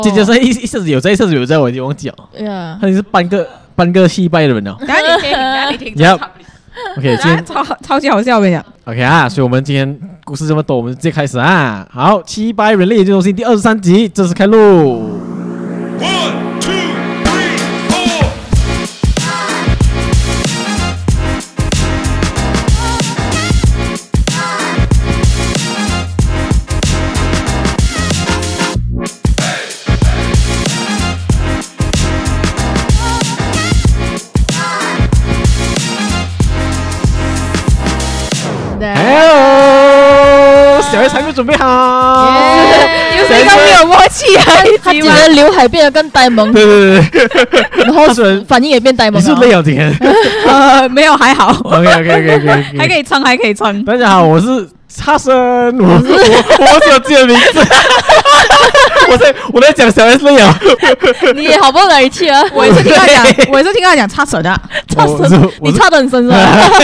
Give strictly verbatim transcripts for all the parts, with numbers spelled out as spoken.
姐姐是一一下子有在，一下子有在，我已經忘記了。哎呀，他是半個半個戲拜的人了。 等下你聽，等下你聽。 Yep OK， 今天超超級好笑，我跟你講。 OK 啊，所以我們今天故事這麼多，我們直接開始啊。好，七拜人類研究中心第二十三集正式開錄。Hello， 小 S 還沒準備好， 有誰剛沒有默契啊？ 他剪的劉海變得更呆萌，對對對，然後反應也變呆萌。 你是累了今天？ 呃，沒有，還好。 OK OK OK OK， 還可以撐，還可以撐。 大家好，我是叉生，我我我忘記了自己的名字。我在我在講小 S 累了， 你也好不容易去啊！ 我也是聽他講，我也是聽他講叉神的， 叉神，你叉得很深是吧？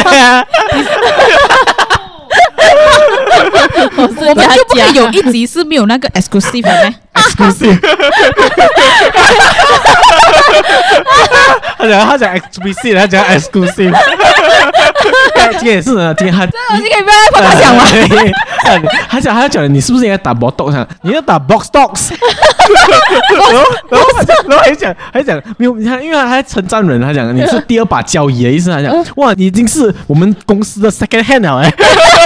我們就不可以有一集是沒有那個 exclusive 的咩 ？exclusive。他講他講 explicit， 他講 exclusive。今天也是呢，今天他這東西可以不要再幫他講嗎？ 他講他講你是不是應該打 box 啊？你要打 box dogs。然後然後然後還講還講沒有，你看，因為他還稱讚人，他講你是第二把交椅的意思，他講哇，你已經是我們公司的 second hand 了哎。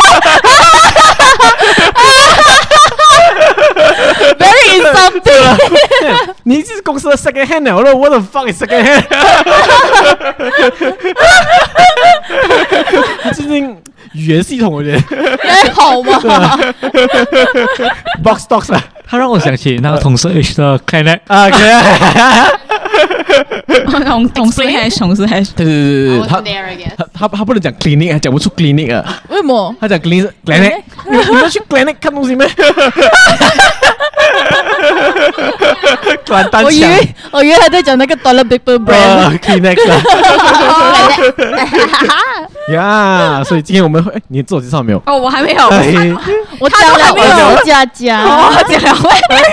Very something， 你是公司的 second hand 了，我說 What the fuck is second hand？ 最近語言系統我覺得還好嗎 ？Box dogs 啊， 他讓我想起那個同事 H 的 Connect 啊 ，Connect。 同同事 hash， 同事 hash， 對對对对，他他他他不能講 clinic， 講不出 clinic 啊。 為什麼？ 他講 clinic clinic， 你你們去 clinic 看東西沒？ 我以為我以為他在講那個 toilet paper brand clinic 呀，所以今天我們會，你自我介紹沒有？ 哦，我還沒有， 我講了，我是佳佳， 我講了，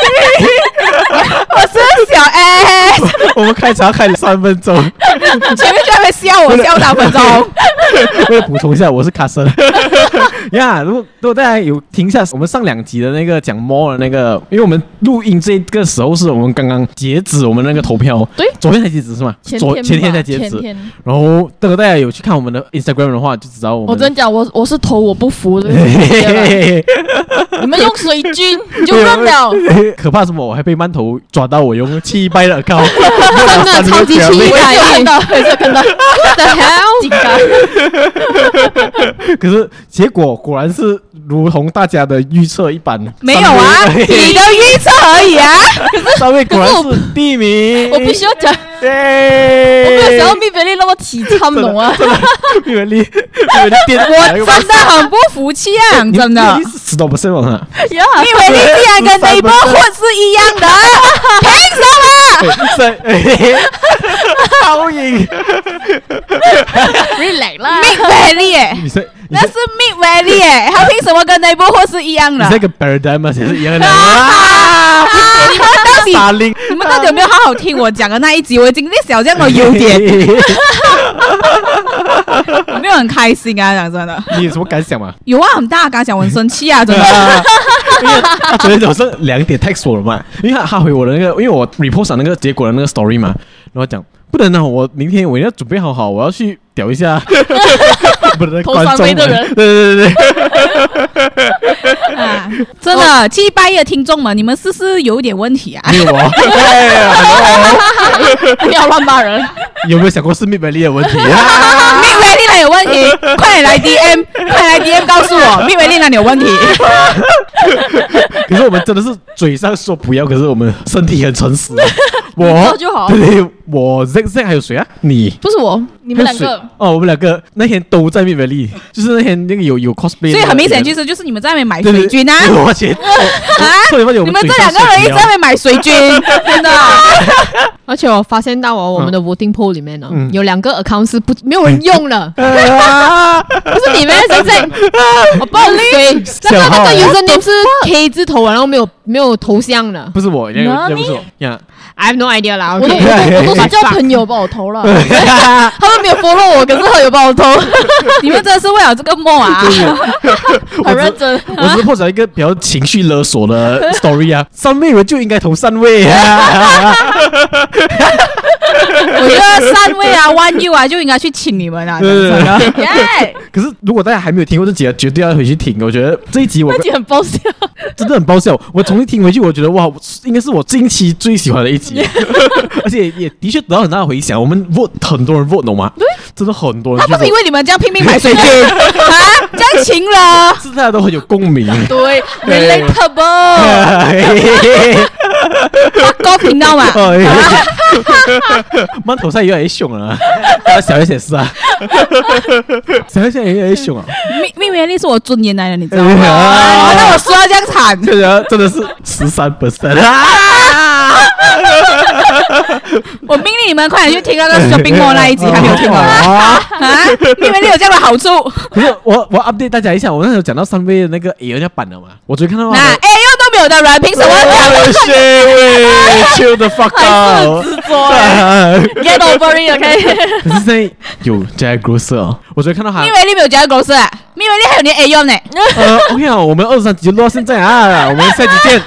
我是小 S。 我們開場開了三分鐘， 前面就在笑我笑兩分鐘。 為了補充一下，我是卡森。呀，如果如果大家有聽一下我們上兩集的那個講 more 的那個，因為我們錄音這個時候是我們剛剛截止我們那個投票，對，昨天才截止是嗎？昨前天才截止。然後，如果大家有去看我們的 Instagram 的話，就知道我們。 我真講，我我是投我不服的。你們用水軍就認了。 可怕什麼？我還被饅頭抓到我用七拜的 account， 真的超級期待，看到，沒有看到 ，What the hell？ 緊張。 可是結果果然是如同大家的預測一般， 沒有啊，你的預測而已啊。 三位果然是第一名。 我必須要講，我沒有想到蜜菲利那麼體參懂啊。 蜜菲利，蜜菲利電， 我真的很不服氣啊，真的。 你是十多 percent 嗎？ 蜜菲利竟然跟 neighborhood 是一樣的，憑什麼？ 超贏 ，relax 啦。 Mid Valley 耶，那是 Mid Valley 耶，他憑什麼跟 neighborhood 是一樣的？ 你這個 paradigm 嘛，也是一樣的。 你們到底，你們到底有沒有好好聽我講的那一集？我已經列小這樣的優點，有沒有很開心啊？講真的， 你有什麼感想嗎？ 有啊，很大感想，我很生氣啊，真的。 因為他昨天早上兩點 text 我了嘛，因為他他回我的那個，因為我 report 上那個結果的那個 story 嘛，然後講不能啊，我明天我要準備好好，我要去屌一下不能觀眾的人，對對對對， 啊，真的七拜的聽眾們，你們是不是有點問題啊？ 沒有啊， 不要亂罵人。 有沒有想過是 Mid Valley 的問題啊 ？Mid Valley 哪有問題？快點來 D M， 快點來 D M 告訴我 Mid Valley 哪裡有問題？ 可是我們真的是嘴上說不要，可是我們身體很誠實。我就好， 对对，我 Z Z 還有誰啊？你不是我，你們兩個哦，我們兩個那天都在 Mid Valley，就是那天那個有有 cosplay， 所以很明顯就是就是你們在那邊買水軍啊！ 我錢啊！ 你們這兩個人一直在那邊買水軍，真的。 而且我發現到哦，我們的 voting poll 裡面呢，有兩個 account 是不沒有人用了， 不是你們現在，我報你。那個那個 username 是 K 字頭，然後沒有沒有頭像的。 不是我，那個不是我呀。 I have no idea 啦， 我都我都是叫朋友幫我投了， 他們沒有 follow 我，可是他有幫我投。 你們真的是為了這個夢啊， 很認真。 我只是破解一個比較情緒勒索的 story 啊，三位人就應該投三位啊。 我覺得三位啊 ，One You 啊，就應該去請你們啊。 耶！可是如果大家還沒有聽過這集，絕對要回去聽。我覺得這一集我那集很爆笑， 真的很爆笑。我重新聽回去，我覺得哇，應該是我近期最喜歡的一集。而且也的確得到很大的回響，我們 vote 很多人 vote 懂嗎？真的很多人。 他不是因為你們這樣拼命買水軍啊，這樣情了， 是大家都很有共鳴。 對 ，relatable。 高頻道嘛， 饅頭賽越來越兇了，小 S 也是啊，小 S 現在越來越兇啊。 蜜蜜月麗是我尊嚴來的，你知道嗎？那我說到這樣慘， 這人真的是十三 percent 啊！ 我命令你們快點去聽那個 shopping mall 那一集，還沒有聽完啊？蜜月麗有這樣的好處？ 可是我我 update 大家一下，我那時候講到三位的那個 A 要版了嘛，我昨天看到那 A 又都沒有的人，憑什麼講 ？Chill the fuck out！ 還是很執着，Get over it，OK？ 可是現在有 Jack Grocer 哦，我昨天看到他。 蜜月麗沒有 Jack Grocer 啊，蜜月麗還有你 A 用呢。 呃 ，OK 啊，我們二十三集就錄到現在啊，我們下集見。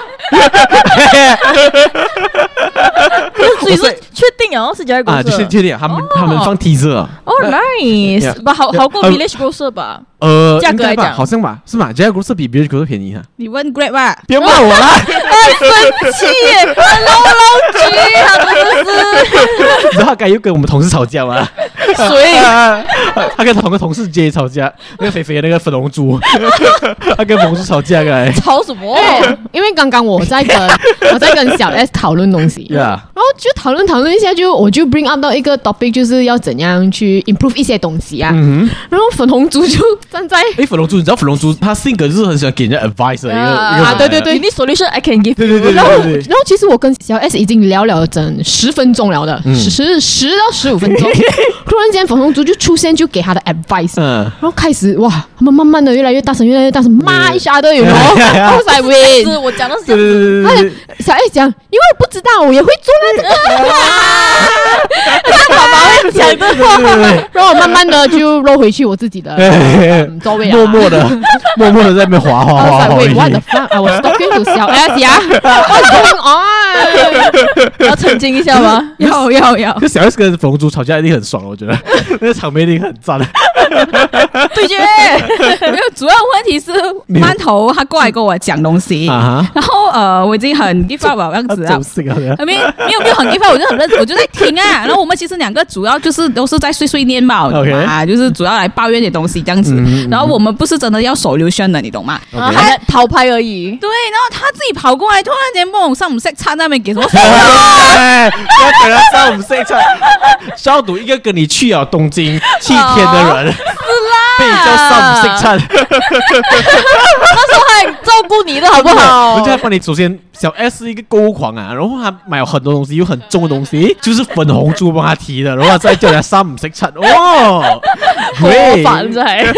所以是確定哦，是 Jack Grocer 啊，就是確定，他們他們放 teaser 啊。 哦 ，nice，吧，好好過 Village Grocer 吧？ 呃， 價格來講好像吧，是嗎 ？Jack Grocer 比 Village Grocer 便宜哈。 你問 Grab 吧， 不要罵我啦！ 生氣，Hello Hello G，他真的是。 你知道他剛又跟我們同事吵架嗎？ 誰？ 他跟同個同事 J 吵架，那個肥肥的那個粉紅豬，他跟同事吵架來。 吵什麼？ 因為剛剛我在跟我在跟小 S 討論東西， yeah. 然後就討論討論一下，就我就 bring up 到一個 topic， 就是要怎樣去 improve 一些東西啊。嗯、然後粉紅豬就站在， 哎，粉紅豬，你知道粉紅豬他性格就是很喜歡給人家 advice 的一個，啊， 一個啊對對對 ，You need solution I can give。 對對對對對。然後然後其實我跟小 S 已經聊了整十分鐘了的，十十十到十五分鐘，突然間粉紅豬就出現，就給他的 advice，嗯，然後開始哇，他們慢慢的越來越大聲，越來越大聲，罵一下的，有沒有？然後才喂， 是我講的是這樣子。 小 S 講，因為我不知道，我也會做那個。他爸爸會講的話，然後我慢慢的就落回去我自己的座位啊， 默默的，默默的在那邊滑滑滑滑。 Wait, what the fuck? I was talking to 小 S 呀，What's going on？ 要澄清一下嗎？ 要要要。 就小 S 跟粉紅豬吵架一定很爽，我覺得那個場面一定很讚。 對決，沒有，主要問題是饅頭他過來跟我講東西，然後呃我已經很 give up 了樣子啊，沒沒有沒有很 give up，我就很認，我就在聽啊。然後我們其實兩個主要就是都是在碎碎念嘛，啊，就是主要來抱怨點東西這樣子。然後我們不是真的要solution的，你懂嗎？ 他討拍而已。 對，然後他自己跑過來，突然間問我上唔識差那邊給什麼？ 要給他上唔識差，消毒一個跟你去了東京七天的人。被你叫上午食餐， 那時候還照顧你的好不好？ 人家幫你首先小 S 是一個購物狂啊，然後他買了很多東西，有很重的東西，就是粉紅豬幫他提的，然後再叫人家上午食餐，哇 ，great，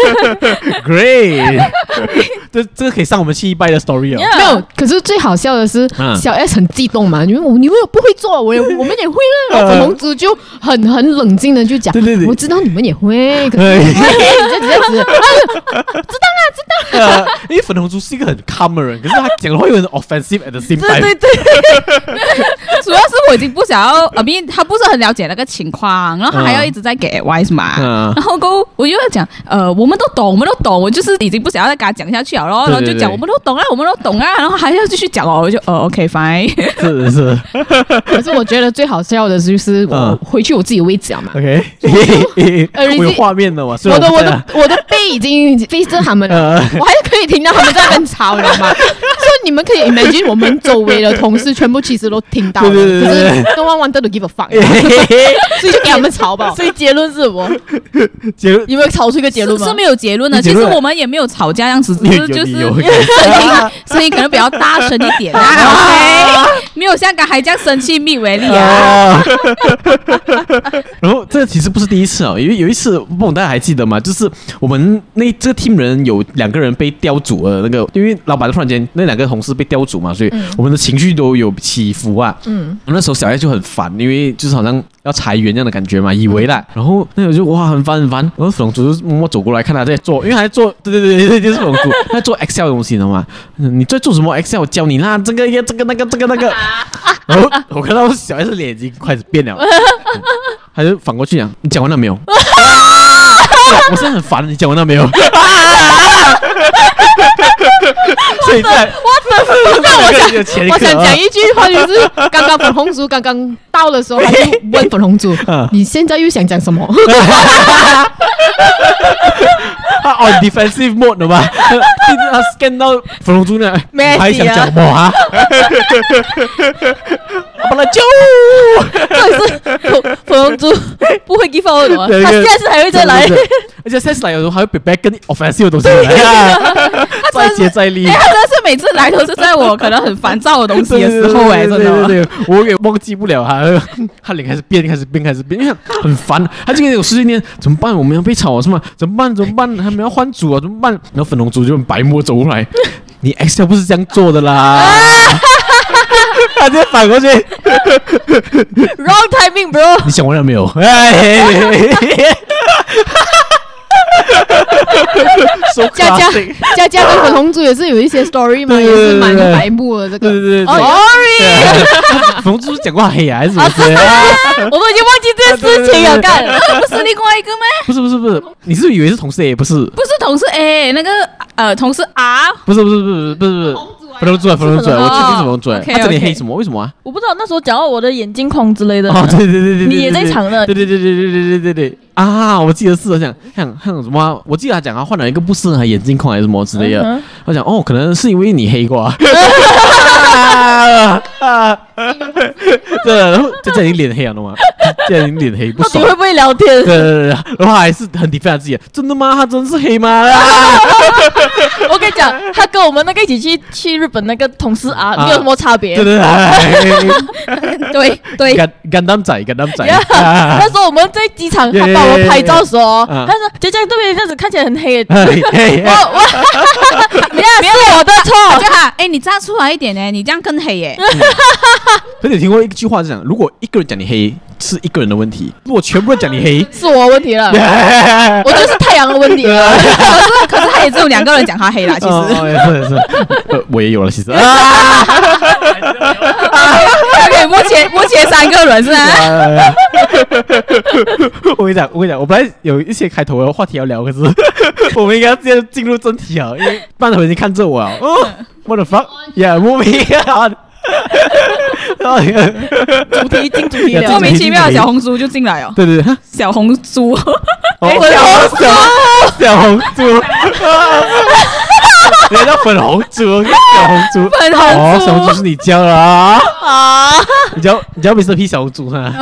great， 這這個可以上我們七一拜的 story 哦。 Yeah. 沒有，可是最好笑的是，嗯、小 S 很激動嘛，因為我你們不會做，我也我們也會了。然後粉紅豬就很很冷靜的就講，對對對，我知道你們也會，可是這樣子，這樣子，知道啦，知道啦。 呃，因為粉紅豬是一個很 calm 的人，可是他講的話又很 offensive at the same time。 對對對，主要是我已經不想要，啊，因為他不是很了解那個情況，然後他還要一直在給 advice 嘛，嗯、然後過我就要講，呃，我們都懂，我們都懂，我就是已經不想要再跟他講下去了咯，然後就講我們都懂啊，我們都懂啊，然後還要繼續講哦，我就呃 OK fine， 是是， 可是我覺得最好笑的就是我回去我自己位置了嘛 ，OK， 我有畫面的嘛， 我的我的我的背已經 face 着他們了，我還是可以聽到他們在那邊吵，你知道嗎？所以你們可以 imagine 我們周圍的同事全部其實都聽到了，可是 no one wanted to give a fuck， 所以就給他們吵吧。 所以結論是什麼？ 結論有沒有吵出一個結論嗎？ 是沒有結論的，其實我們也沒有吵架，這樣子只是就是聲音聲音可能比較大聲一點啊，沒有像剛才這樣生氣蜜為例啊。 然後這個其實不是第一次哦，因為有一次不懂大家還記得嗎？就是我們那這個 team 人有兩個人被調組了，那個因為老闆突然間那兩個同事被調組嘛，所以我們的情緒都有起伏啊。嗯，那時候小葉就很煩，因為就是好像要裁員這樣的感覺嘛，以為啦。然後那個就哇很煩很煩，然後粉紅豬就默默走過來看他在做，因為他在做，對對對對，就是粉紅豬他在做 Excel 的東西，你知道嗎？你在做什麼 Excel？ 我教你啦，這個這個那個這個那個。然後我看到小葉的臉已經開始變了。他就反過去講：“你講完了沒有？”我是很煩，你講完了沒有？所以在我的我想我想講一句話，就是剛剛粉紅豬剛剛到的時候，他就問粉紅豬：“你現在又想講什麼？” 他 on defensive mode 的嘛，他 scan 到粉紅豬呢，還想講什麼啊？把他救！ 到底是粉粉紅豬不會 give up 的嗎？他下次還會再來， 而且下次來的時候還會 prepare 更 offensive 的東西來，再接再厲。 他真的是每次來都是在我可能很煩躁的東西的時候哎，真的， 對对对，我也忘記不了他，他臉開始變，開始變，開始變，因為很煩。他今天有十幾年怎麼辦？我們要被炒是嗎？怎麼辦？怎麼辦？他們要換組啊？怎麼辦？然後粉紅豬就很白目走過來，你 Excel 不是這樣做的啦。他直接反過去 ，wrong timing bro。 你想完了沒有？哎， 佳佳佳佳跟粉紅豬也是有一些 story 嘛，也是蠻白目的這個。 對對對 ，sorry。 粉紅豬講話黑啊，還是什麼？ 我都已經忘記這件事情了，幹， 不是另外一個嗎？ 不是不是不是，你是不是以為是同事 A？ 不是， 不是同事 A， 那個呃同事 R。 不是不是不是不是不是。粉紅豬啊，粉紅豬啊，我確定是粉紅豬啊。他這裡黑什麼？為什麼啊？ 我不知道，那時候講到我的眼鏡框之類的。 哦，對对對對， 你也在場的。 對對對对對對对对对啊！我記得是像像像什麼？我記得他講他換了一個不適合眼鏡框還是什麼之類的。他講哦，可能是因為你黑過。對，然後就在你臉黑了嗎？在你臉黑不爽。 你會不會聊天？ 對对對，然後還是很 defend 自己。真的嗎？他真是黑嗎？ 我跟你講，他跟我們那個一起去去日本那個同事啊，沒有什麼差別。 對對對對， 干干擔仔，干擔仔。 那時候我們在機場，他幫我們拍照的時候，他說：“姐姐對面這樣子看起來很黑。”我我， 不要是我的錯，就哈，哎，你這樣出來一點呢，你這樣更黑耶。 可是你聽過一句話是講，如果一個人講你黑，是一個人的問題；如果全部人講你黑， 是我的問題了。我覺得是太陽的問題了。可是可是他也只有兩個人講他黑啦，其實。 哦，也是也是，我也有了，其實。 OK， 目前目前三個人是吧？ 我跟你講，我跟你講，我本來有一些開頭的話題要聊，可是我們應該要直接進入正題啊，因為半頭已經看着我了。哦 ，What the fuck？ Yeah， moving on。 主題進主題了， 莫名其妙的小紅書就進來了。 對對對， 小紅書， 小紅書，小紅書，人家叫粉紅豬，小紅豬， 粉紅豬， 哦，小紅豬是你叫的啊？啊，你叫你叫 Mister P 小紅豬是吧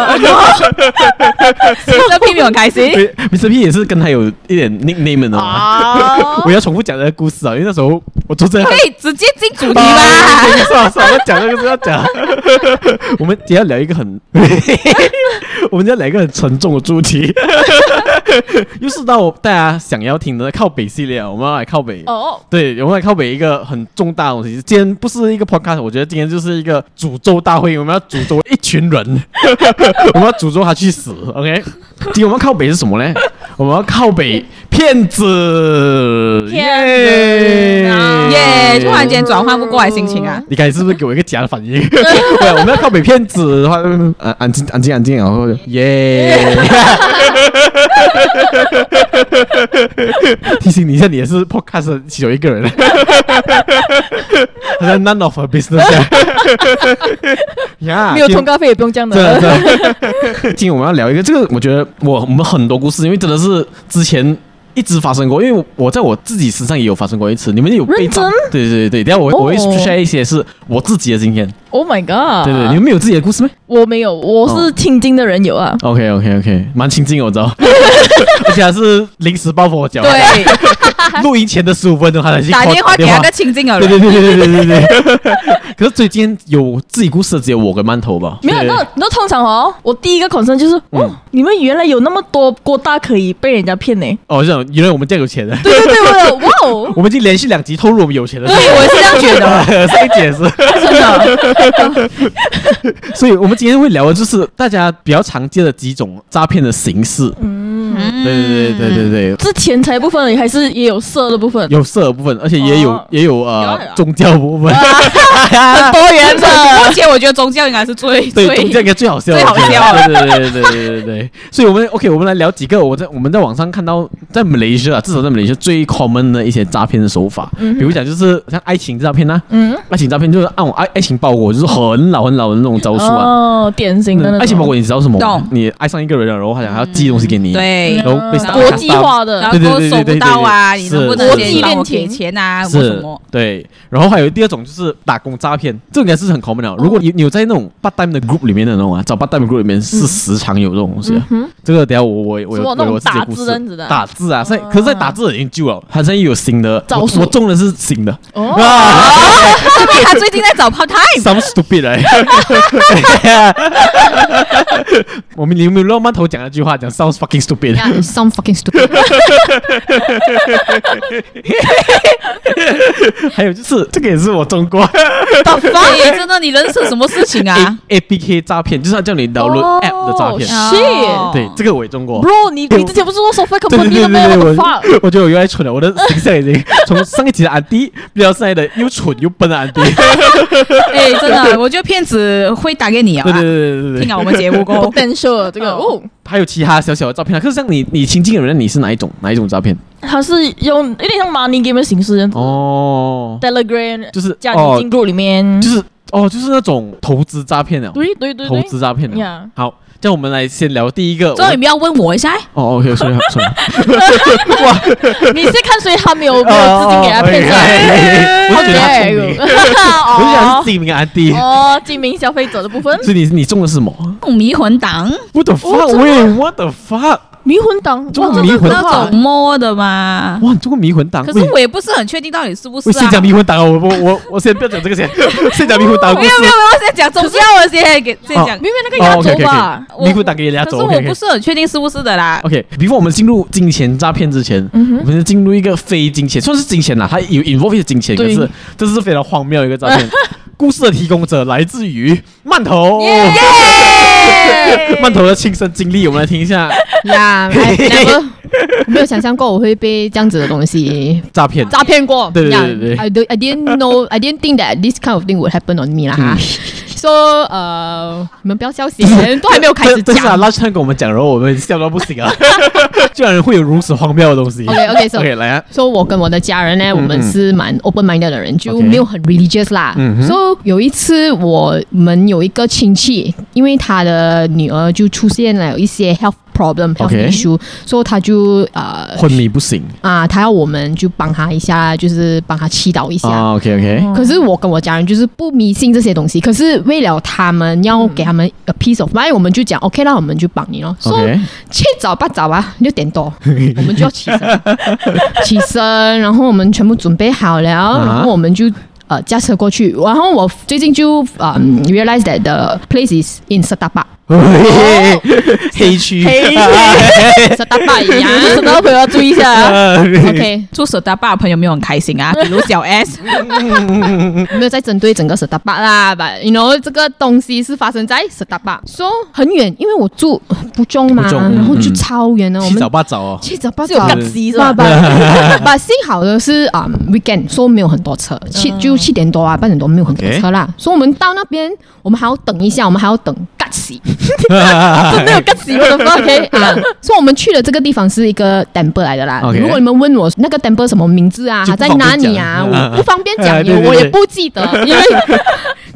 ？Mister P 沒有很開心 ，Mister P 也是跟他有一點 nickname 的嘛。我要重複講這個故事啊，因為那時候我坐在可以直接進主題嗎？ 算了算了，我講那個是要講。我們今天要聊一個很，我們今天要聊一個很沉重的主題，又是到大家想要聽的靠北系列，我們要來靠北。哦，對，我們來靠北一個很重大的東西。今天不是一個 podcast， 我覺得今天就是一個詛咒大會，我們要詛咒一群人，我們要詛咒他去死。OK， 今天我們要靠北是什麼呢？我們要靠北騙子， 騙子耶！突然間轉換不過來心情啊！ 你剛才是不是給我一個假的反應？對，我們要靠北騙子的話，安安靜安靜安靜，然後耶！提醒你一下，你也是 podcast 其中一個人，好像 none of our business。 沒有通告費也不用這樣的。 今天我們要聊一個，這個我覺得我我們很多故事，因為真的是之前一直發生過，因為我在我自己身上也有發生過一次。你們有被認真？ 對對對，等下我、oh. 我會 share 一些是我自己的經驗。 Oh my god！ 對對，你們沒有自己的故事嗎？ 我沒有，我是親近的人有啊。 Oh. OK OK OK， 蠻親近我知道，而且還是臨時抱佛腳。 對， 錄音前的十五分鐘，他才去打電話給那個親近的人。 對對對對對對對對。可是最近有自己故事的只有我跟饅頭吧？ 沒有，那那通常哦，我第一個 concern 就是，哦、嗯，你們原來有那麼多郭大可以被人家騙呢？ 哦，這樣，原來我們這樣有錢的。 對對對，我哇哦， 我們已經連續兩集透露我們有錢的。 對，我是這樣覺得。 上一集也是真的。所以，我們今天會聊的就是大家比較常見的幾種詐騙的形式。嗯，對對對對對對。 是錢財部分，還是也有色的部分？ 有色的部分，而且也有、哦、也有呃有宗教部分， 很多元的。 而且我覺得宗教應該是最對宗教應該最好笑的， 最好笑的。 對對對對對對對。所以我們 OK， 我們來聊幾個我在我們在網上看到在馬來西亞，至少在馬來西亞最 common 的一些詐騙的手法。嗯、比如講就是像愛情詐騙吶，嗯，愛情詐騙就是按我愛愛情包裹，就是很老很老的那種招數啊。 哦，典型的那種。 愛情包裹你知道什麼嗎？你愛上一個人了，然後好像還要寄東西給你， 對， 然後被國際化的， 然後都收不到啊，你能不能先幫我給錢啊？什麼？ 對，然後還有第二種就是打工詐騙，這應該是很 common 的。如果你你有在那種 part time 的 group 裡面的那種啊，找 part time group 裡面是時常有這種東西啊。這個等下我我我有我有自己的故事。打字啊，在可是在打字已經舊了，他現在又有新的招數。我中的是新的。哦， 說明他最近在找 part time。Some stupid 哎。我們你有沒有讓饅頭講一句話，講 sounds fucking stupid。Sounds fucking stupid。 還有就是這個也是我中過。 對，真的，你人生什麼事情啊 ？A P K 詐騙就是他叫你 download app 的詐騙。 是， 對，這個我也中過。 Bro，你你之前不是說 software company 的嗎？ 我我覺得我越來越蠢了，我的形象已經從上一集的安迪變到現在的又蠢又笨的安迪。 哎，真的，我覺得騙子會打給你啊。 對對對對對， 聽了我們節目過。 potential 這個哦， 還有其他小小的詐騙啊。可是像你你親近的人，你是哪一種哪一種詐騙？ 他是用有點像 money game 的形式這樣子哦 ，Telegram 就是加你進入裡面， 就是哦，就是那種投資詐騙的， 對對對， 投資詐騙的。好，這樣我們來先聊第一個。 所以你不要問我一下。 哦 ，OK， 所以所以， 哇，你是看誰還沒有沒有資金給他騙上？ 我覺得他聰明，我就想是精明安迪哦，精明消費者的部分。 所以你你中的是什麼？ 迷魂黨。 What the fuck？喂 ，What the fuck？ 迷魂黨， 中過迷魂黨那種摸的嘛？ 哇，你中過迷魂黨？ 可是我也不是很確定到底是不是啊。 先講迷魂黨啊，我我我我先不要講這個先，先講迷魂黨。 沒有沒有沒有，我先講宗教，我先給先講。 明明那個壓軸吧， 迷魂黨給壓軸。 可是我不是很確定是不是的啦。 OK，before 我們進入金錢詐騙之前，我們先進入一個非金錢，算是金錢啦，它有 involve 金錢，可是這是非常荒謬的一個詐騙。故事的提供者來自於饅頭。饅頭的親身經歷，我們來聽一下。 呀，我沒有想象過我會被這樣子的東西詐騙詐騙過。 對對對 I don't, I didn't know, I didn't think that this kind of thing would happen on me 啦哈。說呃，你們不要笑死，都還沒有開始講。 但是啊，拉川跟我們講，然後我們笑到不行啊，居然會有如此荒謬的東西。 OK OK， so OK 來啊。 說我跟我的家人呢，我們是蠻 open minded 的人，就沒有很 religious 啦。所以有一次我們有一個親戚，因為他的女兒就出現了有一些 health problem health issue，所以他就呃昏迷不醒啊，他要我們就幫他一下，就是幫他祈禱一下。 啊 OK OK。 可是我跟我家人就是不迷信這些東西，可是為了他們要給他們 a piece of mind，我們就講 OK 啦，我們就幫你咯。所以七早八早啊，六點多我們就要起身，起身，然後我們全部準備好了，然後我們就呃駕車過去。然後我最近就呃 realize that the place is in Setapak。 黑區， 黑區，舍大壩一樣，舍大朋友要注意一下。OK， 住舍大壩的朋友沒有很開心啊，比如小 S， 沒有在針對整個舍大壩啦。But you know 這個東西是發生在舍大壩，說很遠，因為我住不中嘛，然後就超遠了。我們七早八早哦， 七早八早， 有趕時是吧？ 把幸好的是啊 ，weekend 說沒有很多車，七就七點多啊，八點多沒有很多車啦。所以我們到那邊，我們還要等一下，我們還要等趕時。真的有個死我的 OK 啊！所以我們去的這個地方是一個 temple 來的啦。Okay. 如果你們問我那個 temple 什麼名字啊，它在哪裡啊？我不方便講，我也不記得，因為太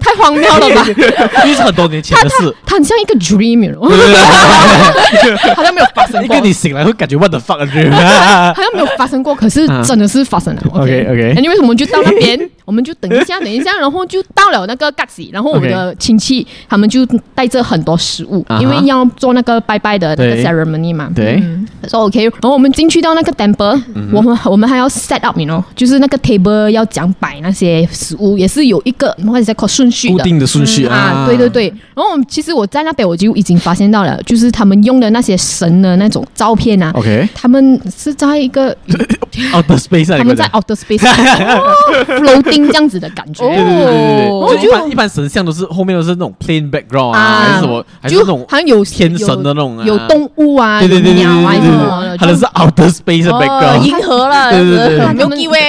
太荒謬了吧？ 因為是很多年前的事， 它很像一個 dream， 好像沒有發生過。 因為你醒來會感覺 what the fuck dream， 好像沒有發生過，可是真的是發生了。 OK OK， 因為我們就到那邊，我們就等一下，等一下，然後就到了那個 Gaxi， 然後我的親戚他們就帶着很多食物，因為要做那個拜拜的那個 ceremony 嘛。 對， 說 OK， 然後我們進去到那個 temple， 我們我們還要 set up， 你 you know， 就是那個 table 要講擺那些食物，也是有一個或者是順序的固定的順序啊。 對對對，然後其實我在那邊我就已經發現到了，就是他們用的那些神的那種照片啊 ，OK， 他們是在一個 outer space， 他們在 outer space。floating 這樣子的感覺， 對對對對對，就一般一般神像都是後面都是那種 plain background 啊，還是什麼，還是那種好像有天神的那種， 有動物啊， 對对对对鳥啊什麼的， 它的是 outer space 的 background， 銀河啦， 對对对， 沒有機會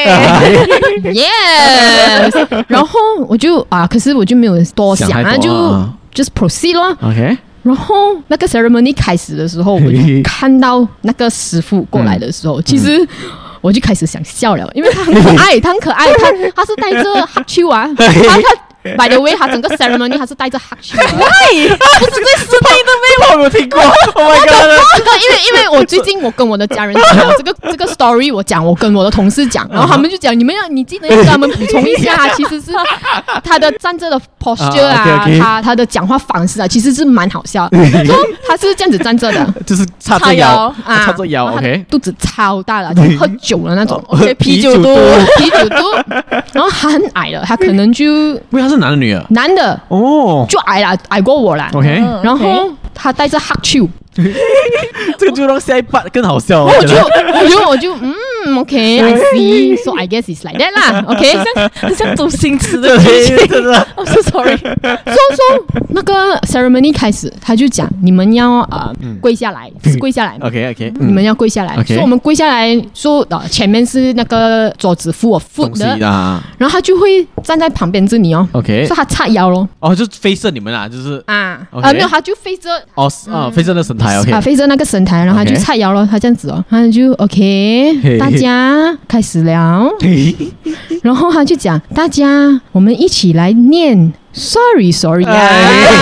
，yes， 然後我就啊，可是我就沒有多想啊，就 just proceed 咯 ，OK。 然後那個 ceremony 開始的時候，我就看到那個師傅過來的時候，其實。我就開始想笑了，因為他很可愛，他很可愛，他他是帶着黑手啊，他他 by the way， 他整個 ceremony 他是帶着黑手， 喂，不是在視頻都沒有， 我有聽過 ，Oh my god， 這個因為因為我最近我跟我的家人講這個這個 story， 我講我跟我的同事講，然後他們就講你們要你記得要跟他們補充一下，其實是他的站着的 posture 啊， uh, okay, okay. 他他的講話方式啊，其實是蠻好笑的，說他是這樣子站着的， 就是叉着腰啊， 叉着腰 ，OK， 肚子超大了，就喝酒的那種 ，OK， 啤酒肚，啤酒肚，然後他很矮了，他可能就，因為他是男的女的， 男的哦，就矮了，矮過我啦 ，OK， 然後他帶着黑手。 這個就讓下一 part 更好笑。 我就我就我就嗯 ，OK，I see，so I guess it's like that 啦 ，OK， 像像周星馳的劇情， 真的。 I'm so sorry。 所以說那個 ceremony 開始，他就講你們要呃跪下來，跪下來 ，OK OK， 你們要跪下來，所以我們跪下來，說呃前面是那個桌子 full of food 的，然後他就會站在旁邊這裡哦 ，OK， 所以他叉腰咯， 哦，就飛射你們啊，就是啊啊沒有，他就飛着哦啊飛着那神台 ，OK， 啊飛着那個神台，然後他就叉腰咯，他這樣子哦，他就 OK， 大家開始了，然後他就講大家我們一起來念 Sorry Sorry 啊。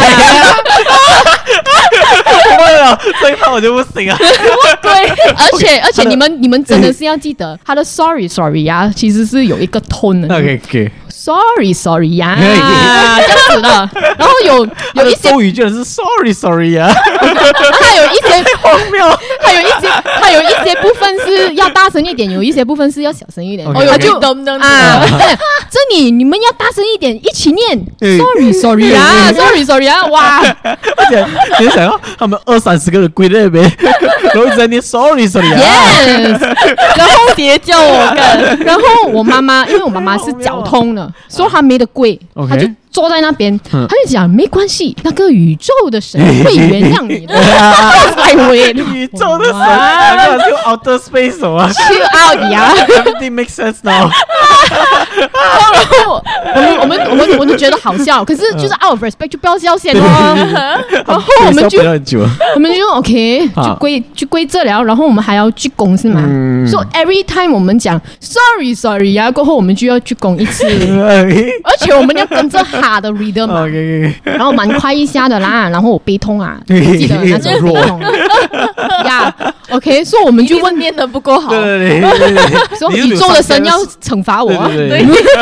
對了，這一趴我就不行啊。 對，而且而且你們你們真的是要記得，他的 Sorry Sorry 呀，其實是有一個 tone 的。 OK OK。 Sorry Sorry 呀，這樣子的。然後有有一些咒語居然是 Sorry Sorry 呀， 還有一些荒謬， 還有一些還有一些部分是要大聲一點，有一些部分是要小聲一點。 哦， 他就啊，這裡你們要大聲一點，一起念 Sorry Sorry 呀 ，Sorry Sorry 呀，哇！ 而且你想要他們二三十個人跪在那邊，然後一直在念 Sorry Sorry 呀 ，Yes， 然後別叫我幹， 然後我媽媽，因為我媽媽是腳痛的，所以她沒得跪，她就坐在那邊，她就講沒關係，那個宇宙的神會原諒你的。 宇宙的神，那就 outer space 啊 ，chill out 呀 ，everything makes sense now。 然後我們我們我們我們都覺得好笑，可是就是 out of respect 就不要笑先哦。然後我們就我們就 OK 就跪就跪這了，然後我們還要鞠躬是嗎？所以 every time 我們講 sorry sorry 呀，過後我們就要鞠躬一次，而且我們要跟着他的 rhythm 嘛，然後蠻快一下的啦，然後我背痛啊，記得那種背痛呀。OK， 所以我們就問念的不夠好， 說宇宙的神要懲罰我啊。對，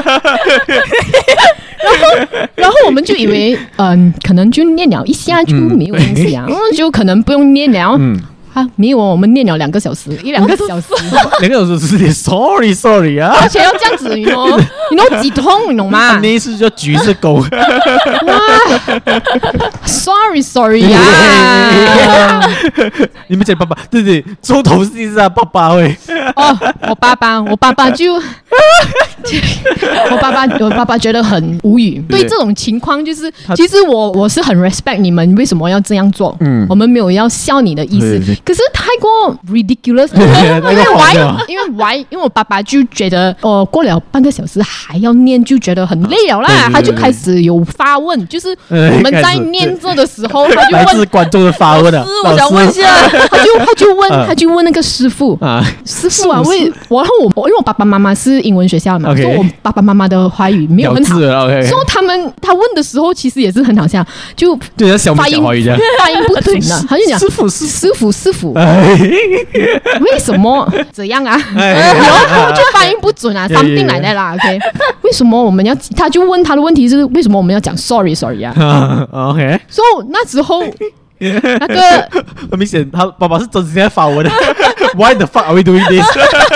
然後，然後我們就以為，嗯、呃，可能就念了一下就沒有問題啊，嗯、就可能不用念了。嗯啊，沒有，我們念了兩個小時，一兩個小時， 兩個小時是 sorry sorry 啊， 而且要這樣子，你 know，你 know 幾痛，你懂嗎？ 那一次就舉着狗， 哇 ，sorry sorry 啊！ 你們講爸爸，對對，重頭戲是啊，爸爸會。 哦，我爸爸，我爸爸就，我爸爸，我爸爸覺得很無語。對這種情況，就是其實我我是很 respect 你們為什麼要這樣做，嗯，我們沒有要笑你的意思。 可是太過 ridiculous， 因為 why？ 因為 why？ 因為我爸爸就覺得哦，過了半個小時還要念，就覺得很累了啦，他就開始有發問，就是我們在念着的時候，他就問來自觀眾的發問啊， 我想問一下， 他就他就問他就問那個師傅啊，師傅啊，為我然後我因為我爸爸媽媽是英文學校嘛，所以我爸爸媽媽的華語沒有很好，所以他們他問的時候其實也是很好笑，就發音發音不準的，他就講師傅師傅師傅，為什麼這樣啊？然後就發音不準啊 ，something like that啦 ，OK？ 為什麼我們要？他就問他的問題是為什麼我們要講 sorry sorry 啊 ？OK？ 所以那時候那個很明顯，他爸爸是真心在發問的。Why the fuck are we doing this？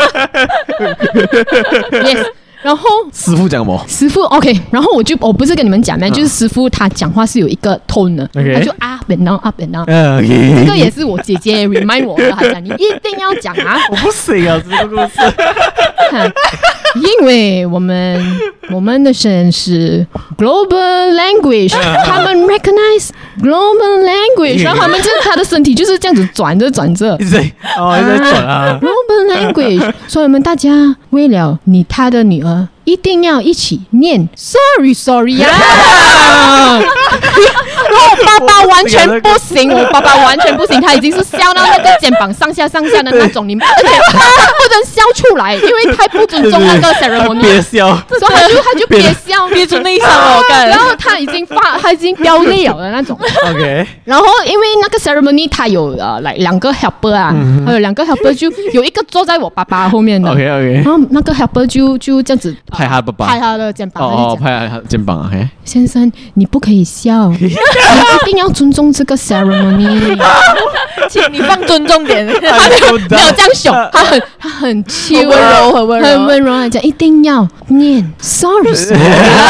Yes。然後師傅講什麼？ 師傅 OK， 然後我就我不是跟你們講嗎？就是師傅他講話是有一個 tone 的，他就 up and down up and down。這個也是我姐姐 remind 我的，她講你一定要講啊！ 我不行啊，這個故事。 因為我們我們的神是 global language， 他們 recognize global language， 然後他們就是他的身體就是這樣子轉着轉着， 一直哦一直在轉啊 global language， 所以我們大家為了你他的女兒。一定要一起念 sorry sorry 呀、啊！然後我爸爸完全不行，我爸爸完全不行，他已經是笑到那個肩膀上下上下的那種，你們而且他不能笑出來，因為太不尊重那個 ceremony， 憋笑， 所以他就他就憋笑， 憋出內傷了，我感覺。 然後他已經發，他已經飆淚了的那種。OK。然後因為那個 ceremony 他有呃來兩個 helper 啊，嗯、還有兩個 helper 就有一個坐在我爸爸後面的。OK OK。然後那個 helper 就就這樣子。 拍他爸爸， 拍他的肩膀。 哦，拍他肩膀啊！ 先生，你不可以笑，你一定要尊重這個 ceremony。 請你放尊重點。他沒有沒有這樣凶，他很他很chill，很溫柔，很溫柔，很溫柔來講，一定要念 sorry sorry。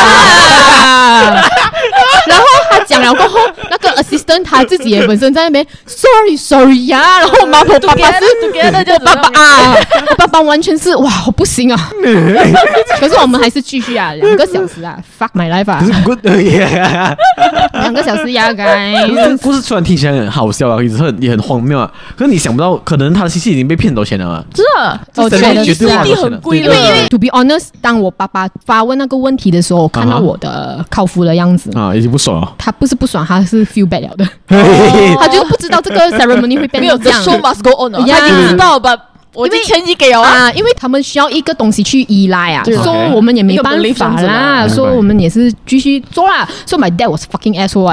然後他講了過後，那個 assistant 他自己也本身在那邊 sorry sorry 呀，然後我媽我爸爸是我爸爸啊，我爸爸完全是哇，我不行啊。可是我們還是繼續啊，兩個小時啊 ，fuck my life 啊 ，good 兩個小時呀，該。 故事突然聽起來很好笑啊，也很也很荒謬啊。可是你想不到，可能他的信息已經被騙走錢了嘛？ 是啊， 我覺得是啊，很貴。 因為因為 to be honest， 當我爸爸發問那個問題的時候，我看到我的靠父的樣子啊， 已經不爽了。 他不是不爽，他是 feel bad 了的，他就不知道這個 ceremony 會變成這樣。 The show must go on， 他已經知道吧？我已經錢已給了啊，因為他們需要一個東西去依賴啊，所以我們也沒辦法啦，所以我們也是繼續做啦。So my dad was fucking asshole。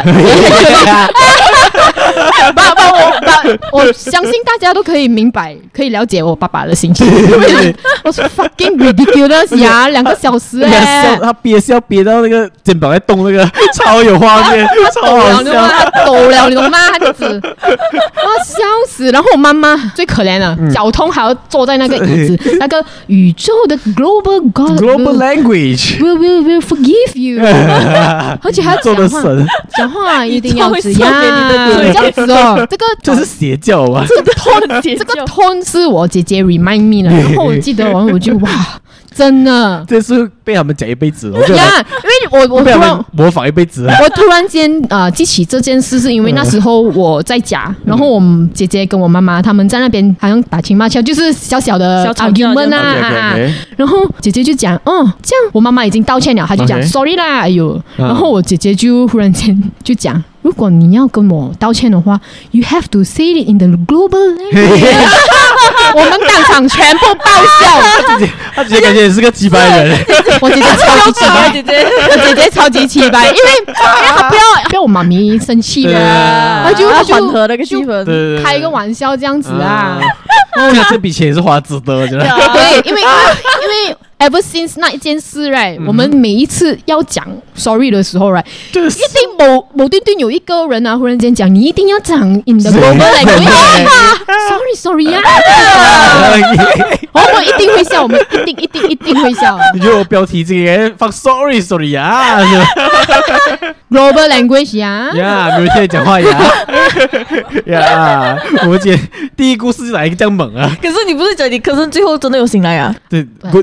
爸爸，我爸，我相信大家都可以明白，可以了解我爸爸的心情。我是 fucking ridiculous 呀，兩個小時哎， 他憋笑憋到那個肩膀在動，那個超有畫面，超好笑， 他抖了，你懂嗎？他就子，哇，笑死！然後我媽媽最可憐了，腳痛還要坐在那個椅子，那個宇宙的 global God global language will will will forgive you， 而且還要講話，講話一定要這樣。這樣子哦，這個這是邪教啊！ 這個 tone， 這個 tone 是我姐姐 remind me 的，然後我記得完我就哇，真的， 這是被他們講一輩子了。 呀，因為我我突然模仿一輩子， 我突然間呃記起這件事，是因為那時候我在家，然後我姐姐跟我媽媽他們在那邊好像打情罵俏，就是小小的 argument 啊，然後姐姐就講，哦，這樣我媽媽已經道歉了，她就講 sorry 啦，哎呦，然後我姐姐就忽然間就講。如果你要跟我道歉的話 ，you have to say it in the global language。我們當場全部爆笑。 他姐姐，他姐姐感觉也是個雞掰人。 我姐姐超級氣掰，姐姐，我姐姐超級氣掰，因為因為她不要不要我媽咪生氣的，她就她就緩和那個氣氛，開一個玩笑這樣子啊。 這這筆錢也是花值得，我覺得。 對，因為因為。Ever since 那一件事 right，、嗯、我們每一次要講 sorry 的時候 right，、就是、一定某某端端有一個人啊，忽然間講，你一定要講 in the global language。Sorry sorry 呀、啊，我們一定會笑，我們一定一定一定會笑。 你覺得我標題這個放 sorry sorry 呀 ，global language 呀， 呀，沒有聽你講話呀，呀，我們今天第一故事就來一個這樣猛啊。 可是你不是講你科生最後真的有醒來啊？ 對 ，good news。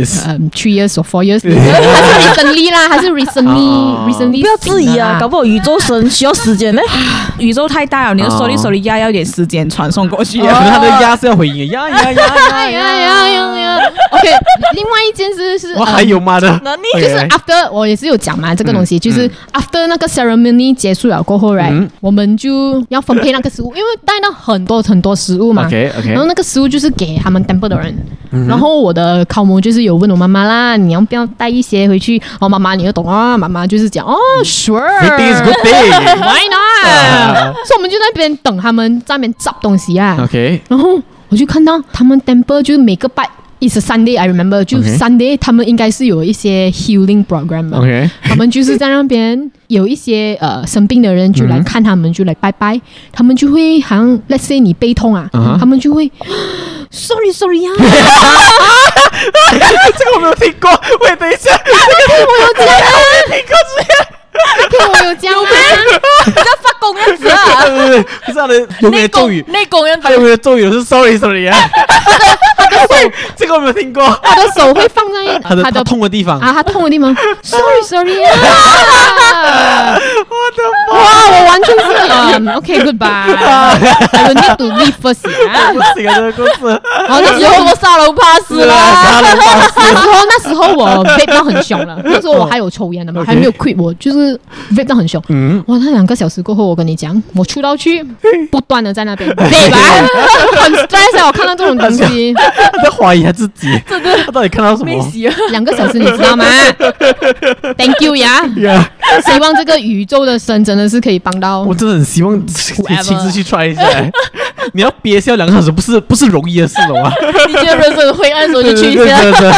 this？ 嗯 ，three years or four years， 還是 recently 啦，還是 recently，recently， 不要質疑啊，搞不好宇宙神需要時間呢。 宇宙太大了，你的手裡手裡壓要一點時間傳送過去。 可能他的壓是要回應，壓壓壓壓壓壓壓。 OK， 另外一件事是， 我還有嗎的？ 就是 after 我也是有講嘛，這個東西就是 after 那個 ceremony 結束了過後 ，right， 我們就要分配那個食物，因為帶到很多很多食物嘛。 OK OK。 然後那個食物就是給他們 temple 的人。然後我的考模就是有問我媽媽啦，你要不要帶一些回去？哦，媽媽你就懂啊，媽媽就是講哦 ，sure，good thing is good thing，why not？所以我們就在那邊等他們在那邊找東西啊。 OK。 然後我就看到他們 temple 就是每個拜。It's a Sunday, I remember. 就 Sunday， 他們應該是有一些 healing program 嘛。 Okay. 他們就是在那邊有一些呃生病的人就來看他們，就來拜拜。他們就會好像 ，let's say 你背痛啊， uh-huh. 他們就會 ，sorry sorry 啊。 這個我沒有聽過，喂，等一下，這個我有講， 我沒聽過這些。 聽我有講嗎？ 你在發功樣子啊？ 對對對，可是他的有沒有咒語？ 內功樣子， 他有沒有咒語？是 sorry sorry 啊。喂，這個我沒有聽過。 他的手會放在他的他痛的地方啊，他痛的地方。Sorry sorry 啊！ 我的哇，我完全是嗯 OK goodbye。I will need to leave first 啊。 不行啊，這個故事。 然後那時候我沙龍 pass 了。 沙龍 pass。 那時候那時候我 vape 到很凶了，那時候我還有抽菸的嘛，還沒有 quit，我就是 vape 到很凶。嗯。哇，那兩個小時過後，我跟你講，我出到去不斷的在那邊 vape 很 stress 我看到這種東西。 他在懷疑他自己，真的，他到底看到什麼？ 兩個小時，你知道嗎 ？Thank you 呀、yeah ，希望這個宇宙的神真的是可以幫到。 我真的很希望親自去 try 一下。你要憋笑兩個小時，不是不是容易的事的嗎？ 你覺得人生很灰暗的時候就去一下。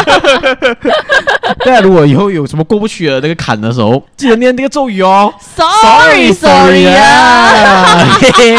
對啊，如果以後有什麼過不去的那個坎的時候，記得念那個咒語哦。 Sorry sorry 啊！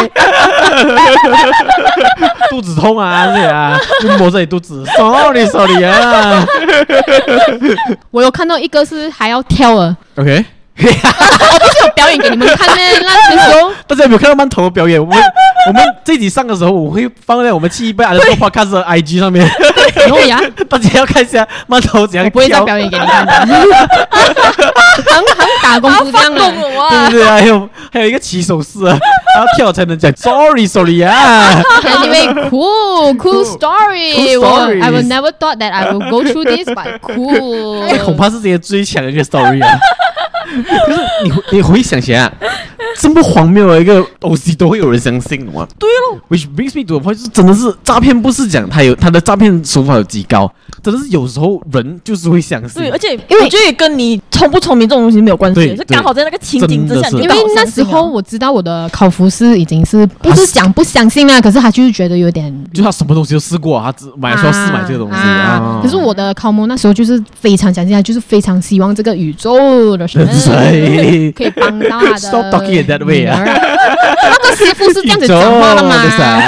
肚子痛啊，這啊，就摸這裡肚子。Sorry sorry 啊！ 我有看到一個是還要跳的。 OK。 我不是有表演給你們看呢，那時候大家有沒有看到饅頭的表演？我們我們這集上的時候，我會放在我們七一八的 podcast 的 I G 上面。 有呀， 大家要看一下饅頭怎樣跳。 我不會再表演給你看的。很很打功夫這樣的。 對對對，還有還有一個起手勢啊，然後跳才能講 sorry sorry 啊。 Anyway, cool cool story. I will never thought that I will go through this, but cool. 這恐怕是这些最強的一個 story 啊。可是你你回想起來，這麼荒謬的一個東西都會有人相信的嗎？ 對咯 ，which brings me to a point，就是真的是詐騙，不是講他有他的詐騙手法有幾高，真的是有時候人就是會相信。 對，而且因為我覺得也跟你聰不聰明這種東西沒有關係，是剛好在那個情景之下， 因為那時候我知道我的考服是已經是不是講不相信啊，可是他就是覺得有點， 就他什麼東西都試過，他只買說試買這個東西啊。啊可是我的考模那時候就是非常相信，他就是非常希望這個宇宙的神可以幫到他的。 Stop talking in that way 啊！ 那個師傅是這樣子講話的嗎？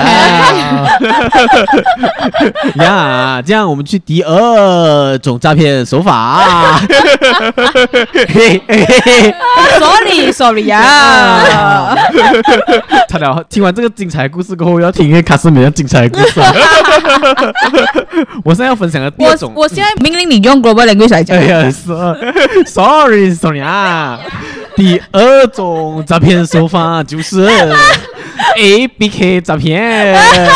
呀，這樣我們去第二種詐騙手法。 Sorry Sorry 啊！ 差點聽完這個精彩的故事過後，要聽一個卡斯美樣精彩的故事。我現在要分享的第二種， 我我現在命令你用 global language 來講。 哎呀，sorry Sorry 啊！第二種詐騙手法就是 A B K 詐騙。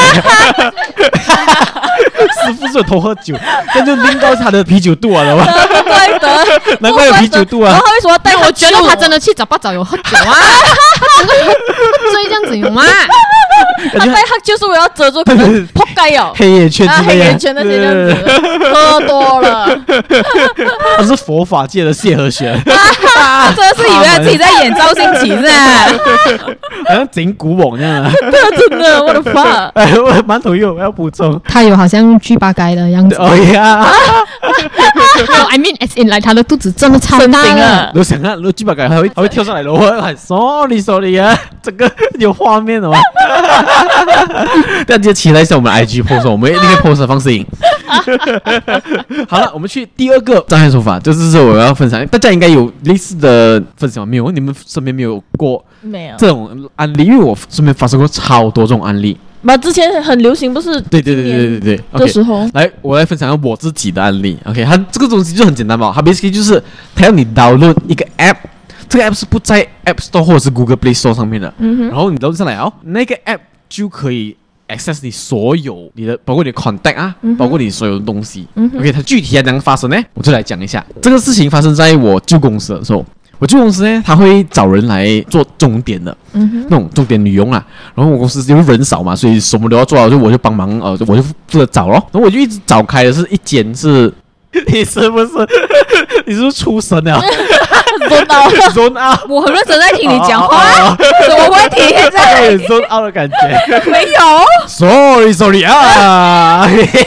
師傅是有偷喝酒，但就拎到他的啤酒肚啊，知道嗎？ 怪得， 難怪有啤酒肚啊。 然後他為什麼帶我去？ 我覺得他真的去找八找有喝酒啊，他整個喝醉這樣子有嗎？ 他帶他就是為了遮住可能撲街哦， 黑眼圈之類的， 黑眼圈那些這樣子，喝多了。 他是佛法界的謝和弦， 真的是以為他自己在演趙新奇是吧？ 好像整蠱網這樣啊！ 真的，我的媽！ 哎，我饅頭又要補充， 他有好像巨八街的樣子。 哦呀 ！I mean, as in like 他的肚子真的超大了。 我想看，如果巨八街還會還會跳上來的，我很 sorry sorry 啊，這個有畫面的嗎？大家期待一下我們 I G post， 我們立刻 post 放視頻。好了，我們去第二個詐騙手法，就是說我要分享，大家應該有類似的分享沒有？你們身邊沒有過沒有這種案例？因為我身邊發生過超多這種案例。 嘛，之前很流行，不是？ 對對對對對對對。 的時候， okay, 來，我來分享我自己的案例。OK， 它這個東西就很簡單嘛，它 basically 就是它要你 download 一個 app， 這個 app 是不在 App Store 或者是 Google Play Store 上面的。嗯哼。然後你 download 上來哦，那個 app 就可以 access 你所有你的，包括你的 contact 啊，嗯、包括你所有的東西。嗯 OK， 它具體要怎樣發生呢？我就來講一下。這個事情發生在我舊公司的時候。我舊公司呢，他會找人來做鐘點的，嗯哼，那種鐘點女傭啊。然後我公司因為人少嘛，所以什麼都要做，就我就幫忙，呃，我就負責找咯。然後我就一直找開的是一間是，你是不是？你是不是出神了？ zone out， zone out， 我很認真在聽你講話，什麼問題？現在 zone out 的感覺沒有 ？Sorry Sorry 啊！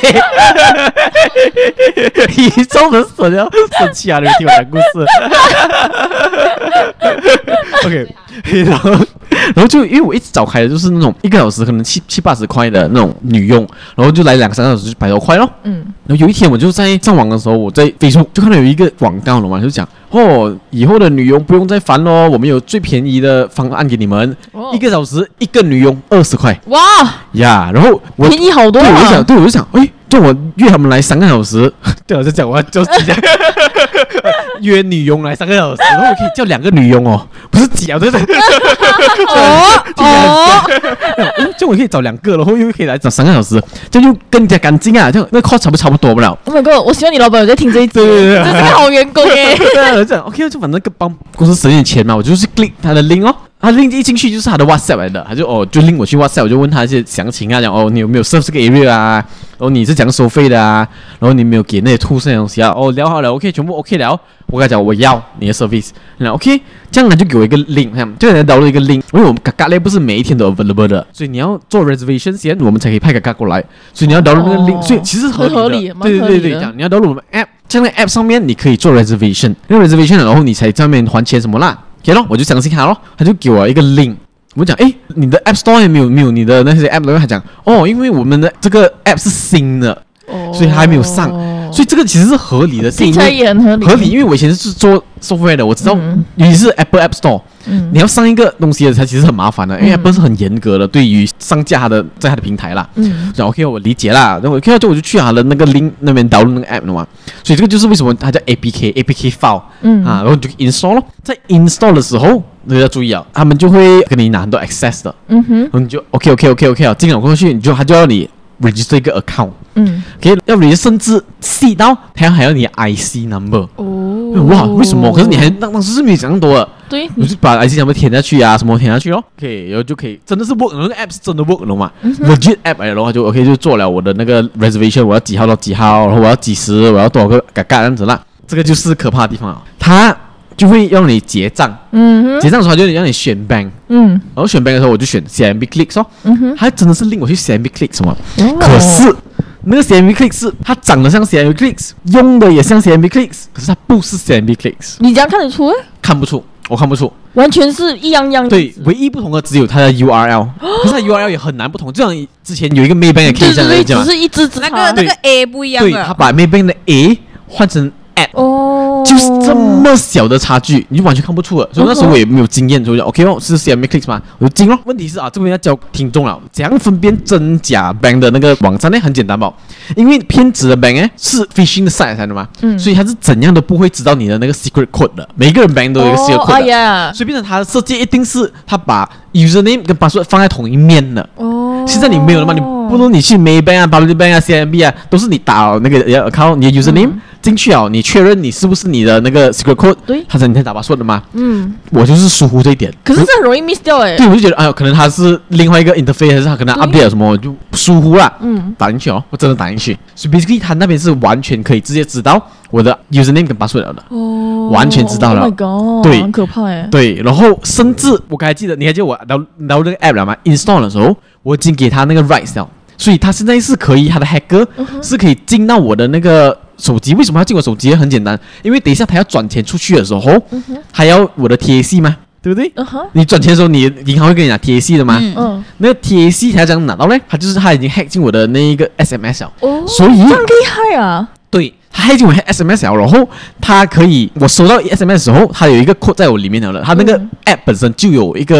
你中人神了，生氣啊！你聽我講故事。OK， 然後然後就因為我一直找開的就是那種一個小時可能七七八十塊的那種女傭，然後就來兩三個小時就百多塊咯。嗯。然後有一天我就在上網的時候，我在 Facebook 就看到有一個廣告了嘛，就講哦，以後的女傭不用再煩咯，我們有最便宜的方案給你們，哦、一個小時一個女傭二十塊。哇呀！然後我便宜好多啊！ 對，我就想，對，我就想，哎。就我約他們來三個小時，對，我就講我要就是講約女傭來三個小時，然後我可以叫兩個女傭哦，不是幾啊，對不對？哦哦，就我可以找兩個，然後又可以來找三個小時，這樣就更加乾淨啊，這樣那 cost 差不差不多不了。 Oh my god！我希望你老闆有在聽這一集，對對對，這是個好員工耶。對啊，我講 OK， 就反正幫公司省點錢嘛，我就是 click 他的 link 哦。他 link 一進去就是他的 WhatsApp 來的，他就哦就 link 我去 WhatsApp， 我就問他一些詳情啊，講哦你有沒有 serve 這個 area 啊，然後你是怎樣收費的啊，然後你沒有給那些 tools 那些東西啊，哦聊好了 OK 全部 OK 了，我跟他講我要你的 service， 然後 OK 這樣他就給我一個 link， 就給他導入一個 link， 因為我們嘎嘎咧不是每一天都 available 的，所以你要做 reservation 先，我們才可以派嘎嘎過來，所以你要導入那個 link，、哦、所以其實合理的，合理對對對對，這樣你要導入我們 app， 這樣的 app 上面你可以做 reservation， 那 reservation 然後你才上面還錢什麼啦 ，OK 咯，我就相信他咯，他就給我一個 link。我講，哎，你的 App Store 也沒有沒有你的那些 App， 然後他講，哦，因為我們的這個 App 是新的，哦、所以還沒有上，所以這個其實是合理的，聽起來也很合理。合理，因為我以前是做 software 的，我知道，嗯、尤其是 Apple App Store，、嗯、你要上一個東西的，它其實很麻煩的，因為 Apple 是很嚴格的，對於上架它的在它的平台啦。嗯，然後 OK， 我理解啦，然後 OK， 就我就去它的那個 link 那邊導入那個 App 了嘛，所以這個就是為什麼它叫 A P K，A P K file，嗯啊，然後你就 install 咯，在 install 的時候。你要注意啊，他們就會跟你拿很多 access 的，嗯哼，然後你就 OK OK OK OK 啊，進了過去，你就他就要你 register 一個 account，嗯 ，OK， 要你甚至細到他還要你的 I C number，哦，哇，為什麼？可是你還當當時是沒有想那麼多的，對，你就把 I C number 填下去啊，什麼填下去咯 ，OK， 然後就可以真的是 work， 那個 app 是真的 work 了嘛、嗯、，legit app 來的話就 OK 就做了我的那個 reservation， 我要幾號到幾號，然後我要幾時，我要多少個嘎嘎這樣子啦，這個就是可怕的地方啊，它。就會讓你結賬，嗯，結賬的時候就讓你選 bank， 嗯，然後選 bank 的時候我就選 C M B Clicks 哦，嗯哼，它真的是令我去 C M B Clicks 嘛，哦、可是那個 C M B Clicks 是它長得像 C M B Clicks， 用的也像 C M B Clicks， 可是它不是 C M B Clicks， 你這樣看得出？ 看不出，我看不出， 完全是一樣樣。 對，唯一不同的只有它的 U R L，、哦、可是它 U R L 也很難不同，就像之前有一個 Maybank 的 case 這樣來講， 只是一隻那個那個 A 不一樣的， 對，它把 Maybank 的 A 換成。哦，就是這麼小的差距，你就完全看不出了。所以那時候我也沒有經驗，所以就 OK 哦，是 C M B Clicks 嗎？我就進咯。問題是啊，這邊要教聽眾了，怎樣分辨真假 bank 的那個網站呢？很簡單吧，因為騙子的 bank 呢是 phishing 的 site 來的嘛，嗯，所以他是怎樣都不會知道你的那個 secret code 的。每一個人 bank 都有一個 secret code 的，哦、哎呀，所以變成他的設計一定是他把 username 跟 password 放在同一面的。哦，現在你沒有了嘛？你不如你去 Maybank 啊、Public Bank 啊、C M B 啊，都是你打那個 account 你的 username、嗯。進去啊，你確認你是不是你的那個 secret code， 對，他才你才打把說的嘛。嗯，我就是疏忽這一點。 可是這很容易 miss 掉哎。對， 我就覺得哎呦，可能他是另外一個 interface， 還是他可能 update 什麼，我就疏忽了。嗯，打進去哦，我真的打進去。所以 basically 他那邊是完全可以直接知道我的 username 跟 password 的。哦，完全知道了。Oh my god， 對， 很可怕哎。 對，然後甚至我剛才記得，你還記得我導導那個 app 了嗎 ？install 的時候，我已經給他那個 rights 了，所以他現在是可以，他的 hacker、uh-huh. 是可以進到我的那個。手機為什麼要進我手機？很簡單，因為等一下他要轉錢出去的時候，還、uh-huh. 要我的 T A C 嘛，對不對？ uh-huh. 你轉錢的時候，你銀行會跟你拿 T A C 的嘛？嗯嗯。那個 T A C 他要怎樣拿到呢？他就是他已經 hack 進我的那一個 S M S 了，哦，所以這樣厲害啊！ 對，他 hack 進我的 S M S 了，然後他可以，我收到 S M S 的時候，他有一個 code 在我裡面了，他那個 app 本身就有一個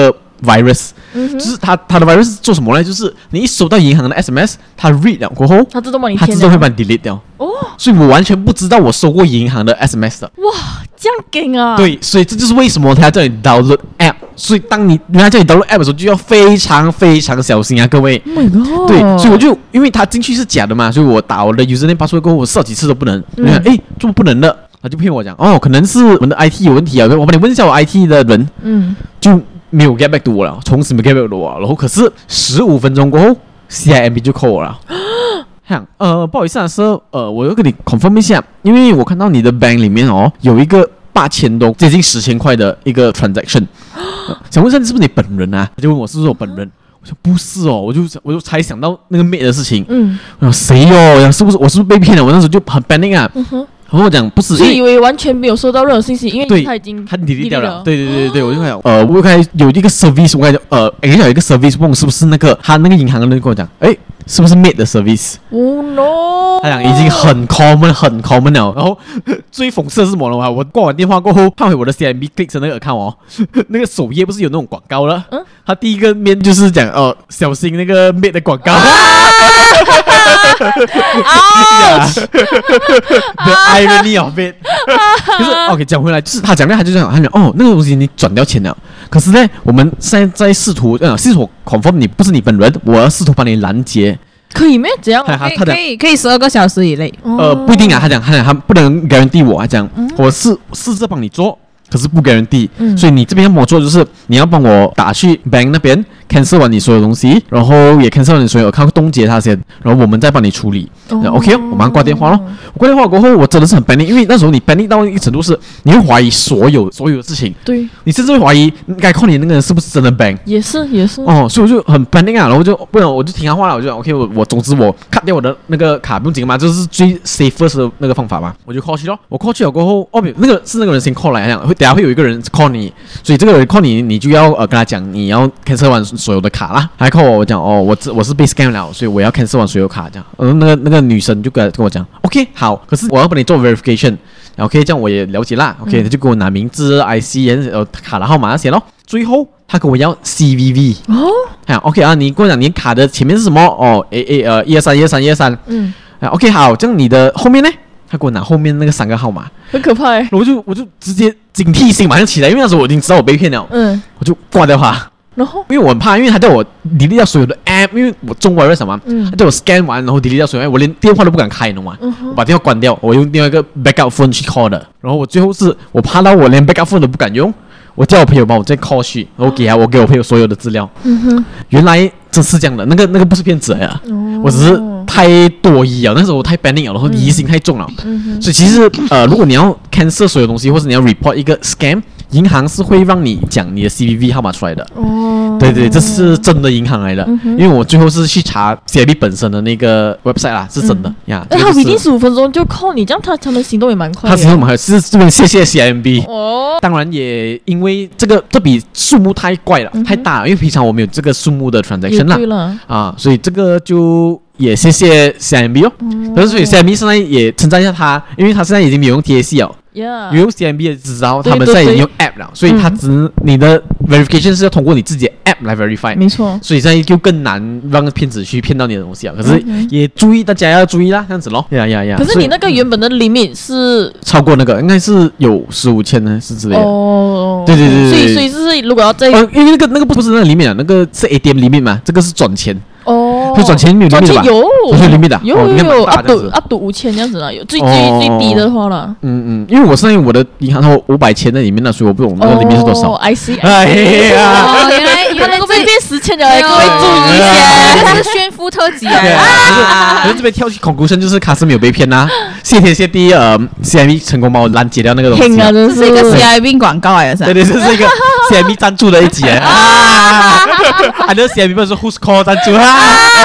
virus，、嗯、就是它它的 virus 做什麼呢？就是你一收到銀行的 S M S， 它 read 了過後，它自動幫你，它自動會幫你 delete 掉。哦，所以我完全不知道我收過銀行的 S M S 的。 哇，這樣勁啊！ 對，所以這就是為什麼他要叫你 download app。所以當你人家叫你 download app 的時候，就要非常非常小心啊，各位。 Oh my god！ 對，所以我就因為他進去是假的嘛，所以我打我的 username password過後，我試了幾次都不能。嗯，哎，怎麼不能的？他就騙我講，哦，可能是我們的 I T 有問題啊，我幫你問一下我 I T 的人。嗯，就沒有 get back to 我了，從此沒 get back to 我了。然後可是十五分鐘過後 ，C I M B 就 call 我了。這樣，呃，不好意思啊，Sir，呃，我要跟你 confirm 一下，因為我看到你的 bank 裡面哦有一個八千多，接近十千塊的一個 transaction，、呃、想問一下你是不是你本人啊？他就問我是不是我本人，我說不是哦，我就我就才想到那個 mate 的事情，嗯，我說誰哦？是不是我是不是被騙了？我那時候就很 panic 啊。嗯哼，然後我講不是， 所以以為完全沒有收到任何信息，因為他已經他 delete 掉了。對對對對，我就看呃，我看有一個 service， 我看呃，應該有一個 service， 問是不是那個他那個銀行的人跟我講，哎。是不是 made 的 service？ 哦 no！ 他講已經很 common 很 common 了。然後最諷刺的是什麼呢？我掛完電話過後，看回我的 C I M B click 的那個 account 哦，那個首頁不是有那種廣告了？嗯，他第一個面就是講哦、呃，小心那個 made 的廣告。The irony of it。就是 OK， 講回來，就是他講的，他就這樣，他講哦，那個東西你轉掉錢了。可是呢，我們現在在試圖，呃，試圖 confirm 你不是你本人，我要試圖幫你攔截， 可以咩？怎樣？ 他他可以可以十二個小時以內。 呃，不一定啊，他講他講他不能 guarantee 我，他講、嗯、我試試着幫你做，可是不 guarantee，、嗯、所以你這邊要幫我做，就是你要幫我打去 bank 那邊 cancel 完你所有東西，然後也 cancel 完你所有，看凍結它先，然後我們再幫你處理。哦、OK， 我馬上掛電話咯。我掛電話過後，我真的是很 panic，因為那時候你 panic 到一個程度是，你會懷疑所有所有的事情。對，你甚至會懷疑該 call 你那個人是不是真的 bank。也是也是。哦，所以我就很 panic 啊，然後就不然我就聽他話了，我就 OK， 我我總之我 cut 掉我的那個卡不用緊嘛，這是最 safest 的那個方法嘛，我就 call 去咯。我 call 去了過後，哦，那個是那個人先 call 來，這樣會等下會有一個人 call 你，所以這個人 call 你，你就要呃跟他講你要 cancel 完所有的卡啦。還 call 我，我講哦，我我是被 scam 了，所以我要 cancel 完所有卡這樣。呃，那個那個女生就跟跟我講 ，OK， 好，可是我要幫你做 verification，OK， 這樣我也了解啦。OK，、嗯、他就給我拿名字、I C、呃卡的號碼那些咯。最後他跟我要 C V V 哦，哎 ，OK 啊，你跟我講你卡的前面是什麼？哦，A A 呃一二三一二三一二三，嗯，啊 OK 好，這樣你的後面呢？他給我拿後面那個三個號碼， 很可怕哎， 我就我就直接警惕性馬上起來，因為那時候我已經知道我被騙了，嗯，我就掛掉他。然後，因為我很怕，因為他叫我 delete 掉所有的 app， 因為我中國人什麼，嗯、他叫我 scan 完，然後 delete 掉所有 app， 我連電話都不敢開，你懂嗎？嗯、我把電話關掉，我用另外一個 backup phone 去 call 的。然後我最後是我怕到我連 backup phone 都不敢用，我叫我朋友幫我再 call 去，然後給他，我給我朋友所有的資料。嗯哼，原來這是這樣的，那個那個不是騙子呀，哦、我只是太多疑了，那時候我太 panic 了，然後疑心太重了，嗯、所以其實呃，如果你要 cancel 所有東西，或者你要 report 一個 scam。銀行是會讓你講你的 C V V 號碼出來的哦，對對，這是真的銀行來的，嗯、因為我最後是去查 C I M B 本身的那個 website 啦，是真的、嗯、呀。 哎，他一定十五分鐘就 call 你，這樣他他們行動也蠻快的。 他行動蠻快，是這邊謝謝 C I M B 哦。當然也因為這個這筆數目太怪了，嗯、太大了，因為平常我們有這個數目的 transaction 啦，對了啊，所以這個就。也謝謝 C I M B 哦，可是、嗯、所以 C I M B 現在也稱讚一下他，因為他現在已經沒有用 T A C 了，有 Yeah. 用 C I M B 的知道他們現在已經用 app 了，所以他只、嗯、你的 verification 是要通過你自己的 app 來 verify，沒錯，所以現在就更難讓騙子去騙到你的東西啊。可是也注意，大家要注意啦，這樣子咯。呀呀呀！ 可是你那個原本的 limit 是超過那個，應該是有十五千呢，是之類的。哦，對對對對。所以所以就是如果要再、 呃，因為那個那個不是那個 limit 啊，那個是 A T M limit 嘛，這個是轉錢。哦，會轉錢沒有 limit 的吧？有，有 limit 的， 有有有 ，up to up to 五千這樣子啦，有最最最低的話了。嗯嗯，因為我現在我的銀行有五百千在裡面了，所以我不懂那個裡面是多少。 哦 I see， 哎呀，原來原來這邊十千的，各位注意一下，這是炫富特輯啊！ 可是這邊跳去 conclusion 就是卡斯沒有被騙吶，謝天謝地，呃 C I M B 成功幫我攔截掉那個東西。 這是一個 C I M B 廣告來的， 對對，這是一個 C I M B 贊助的一集啊，還有 C I M B 不是 Who's Call 贊助啊。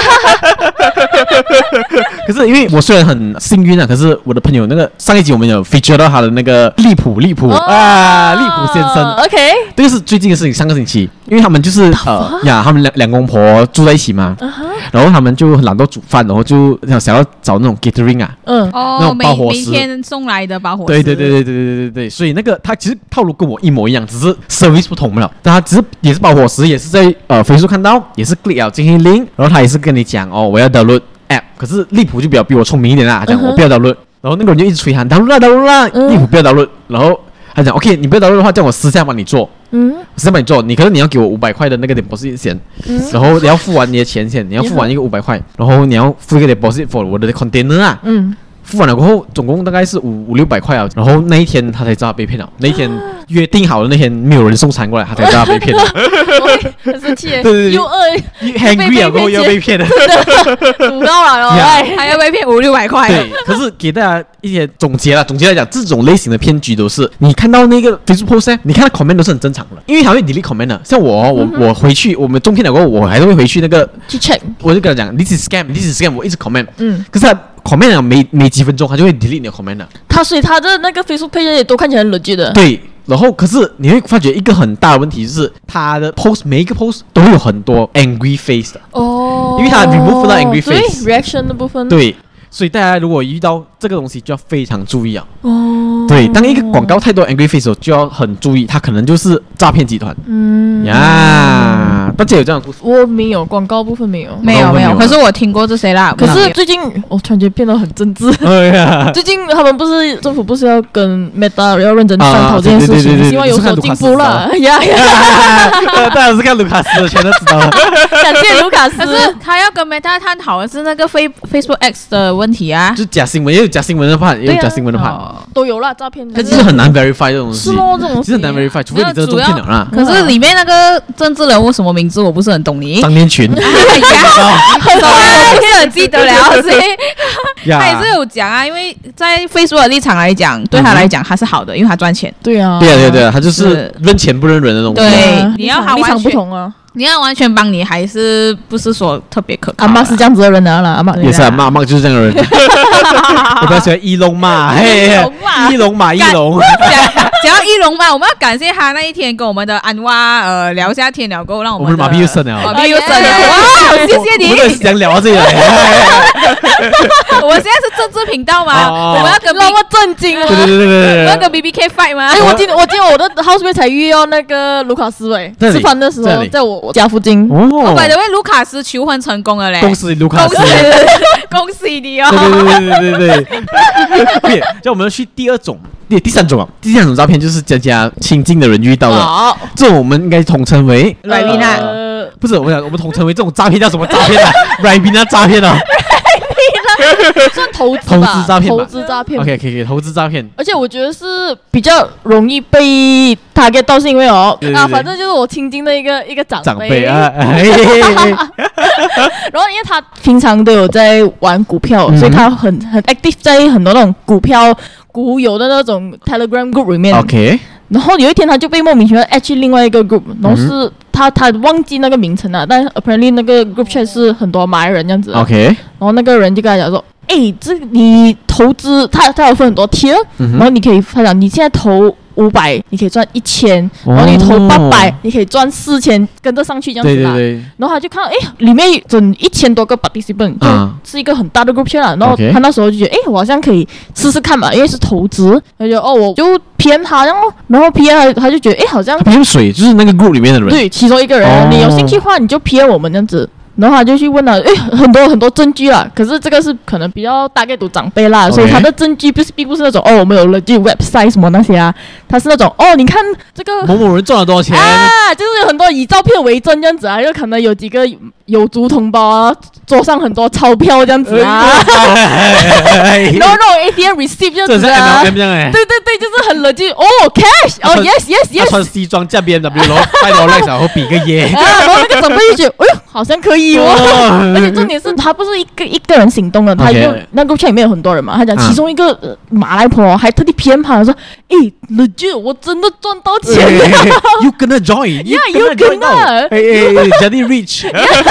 可是因為我雖然很幸運啊，可是我的朋友那個上一集我們有 feature 到他的那個利普利普啊利普先生 ，OK， 這個是最近的事情，上個星期，因為他們就是呃呀，他他們兩兩公婆住在一起嘛，uh huh. 然後他們就懶得煮飯，然後就想要找那種 catering 啊，嗯，那種包伙食， 每天送來的包伙食。 對對對對對對對對，所以那個他其實套路跟我一模一樣，只是 service 不同了。但他只是也是包伙食，也是在呃 Facebook 看到，也是 click 了進行 link， 然後他也是跟你講哦，我要 download app， 可是利普就比較比我聰明一點啦，他講、uh huh. 我不要 download， 然後那個人就一直催他 download 啦 download 啦，利普不要 download， 然後他講 OK， 你不要 download 的話，叫我私下幫你做。嗯，私下幫你做，你可能你要給我五百塊的那個 deposit 先，嗯、然後你要付完你的錢先，你要付完一個五百塊，然後你要付一個 deposit for 我的 container 啊。嗯。付完了過後，總共大概是五五六百塊啊。然後那一天他才知道被騙了。那一天約定好的那天，沒有人送餐過來，他才知道被騙了。 很生氣。 對對對， 又餓 ，hungry 了過後又被騙了， 煮到了哦， 還要被騙五六百塊。 對，可是給大家一些總結啦，總結來講，這種類型的騙局都是你看到那個 Facebook post， 你看到 comment 都是很正常的，因為他會 delete comment 的。像我，我我回去，我們中騙了過後，我還是會回去那個去 check， 我就跟他講 ，this is scam，this is scam， 我一直 comment， 嗯，可是他。comment 了沒沒幾分鐘，他就會 delete 你的 comment 了。 他所以他的那個 Facebook page 也都看起來很 legit 的。 對，然後可是你會發覺一個很大的問題就是他的 post 每一個 post 都會有很多 angry face 的。哦。因為他 remove 到 angry face。 對 reaction 的部分。 對，所以大家如果遇到這個東西就要非常注意啊。哦。對，當一個廣告太多 angry face 的時候，就要很注意，他可能就是詐騙集團。嗯。呀，大家有這樣的故事？ 我沒有，廣告部分沒有。 沒有沒有，可是我聽過這些啦。 可是最近我突然間變得很政治。哎呀。最近他們不是政府不是要跟 Meta 要認真商討這件事情，希望有所進步了。呀呀。 大家是看盧卡斯的，全都知道了。 感謝盧卡斯。 可是他要跟 Meta 探討的是那個 Face Facebook X 的問題啊。 就假新聞，也有假新聞的判，也有假新聞的判。 都有啦，詐騙。 可是很難 verify 這種東西。 是咯，這種東西。 其實很難 verify，除非你真的中騙了啦。 可是裡面那個政治人物什麼名字我不是很懂你。 張念群。 哎呀，很多我不是很記得了，所以他也是有講啊，因為在 Facebook 的立場來講，對他來講他是好的，因為他賺錢。 對啊。 對啊對啊對啊，他就是認錢不認人的東西。 對，你要他立場不同啊。 你要完全幫你，還是不是說特別可靠？ 阿媽是這樣子的人啊啦，阿媽也是阿媽，阿媽就是這樣的人。我比較喜歡一龍嘛，嘿，一龍馬一龍。 講到一龍嘛，我們要感謝他那一天跟我們的安娃呃聊下天了，過後讓我們馬屁又生了， 馬屁又生了，哇！謝謝你。 我們想聊到這裡來。 我們現在是政治頻道嘛，我們要跟那麼震驚啊！ 對對對對對， 我要跟 B B K fight 嗎？ 哎，我今我今天我的 housemate 才遇到那個盧卡斯喂，吃飯的時候在我我家附近。 哦，by the way，盧卡斯求婚成功了嘞！ 恭喜盧卡斯， 恭喜你哦！ 對對對對對對。那我們要去第二種，第第三種啊，第三種詐騙就是佳佳親近的人遇到的，這種我們應該統稱為 Ribena。 不是，我們講我們統稱為這種詐騙叫什麼詐騙啊 ？Ribena 詐騙啊。 算投資投資詐騙， 投資詐騙。 OK， 可以可以，投資詐騙。而且我覺得是比較容易被 target 到，是因為哦啊，反正就是我親近的一個一個長輩。長輩啊。然後因為他平常都有在玩股票，所以他很很 active 在很多那種股票股友的那種 Telegram group 裡面。OK。然後有一天他就被莫名其妙 add 去另外一個 group， 然後是他他忘記那個名稱了，但 apparently 那個 group chat 是很多馬來人這樣子。OK。然後那個人就跟他講說，哎，這你投資，他他有分很多 tier，然後你可以他講你現在投五百，你可以賺一千，然後你投八百，你可以賺四千，跟着上去這樣子啦。對對對。然後他就看到，哎，裡面整一千多個 participant，就是一個很大的 group chat 啦。然後他那時候就覺得，哎，我好像可以試試看嘛，因為是投資。他就哦，我就騙他，然後然後騙他，他就覺得，哎，好像騙水就是那個 group 裡面的人。 對，其中一個人，你有興趣的話，你就騙我們這樣子。然後他就去問了，誒，很多很多證據啦，可是這個是可能比較大概都長輩啦， Okay. 所以他的證據不是並不是那種哦，我們有了就 website 什麼那些啊，他是那種哦，你看這個某某人賺了多少錢啊，就是有很多以照片為證這樣子啊，就可能有幾個有族同胞啊，桌上很多鈔票這樣子啊，然後那種 A T M receipt 這樣子啊，對對對，就是很 legit 哦 ，cash 哦 ，yes yes yes，他穿西裝駕 B M W 然後戴羅萊斯然後比個耶， 啊，然後那個長輩就覺得，哎呦，好像可以。而且重點是他不是一個一個人行動的，他就那個圈裡面有很多人嘛。他講其中一個馬來婆還特地偏旁說：“ 誒，legit，我真的賺到錢了。 You gonna join？Yeah，you gonna。 哎哎 ，Jadi rich。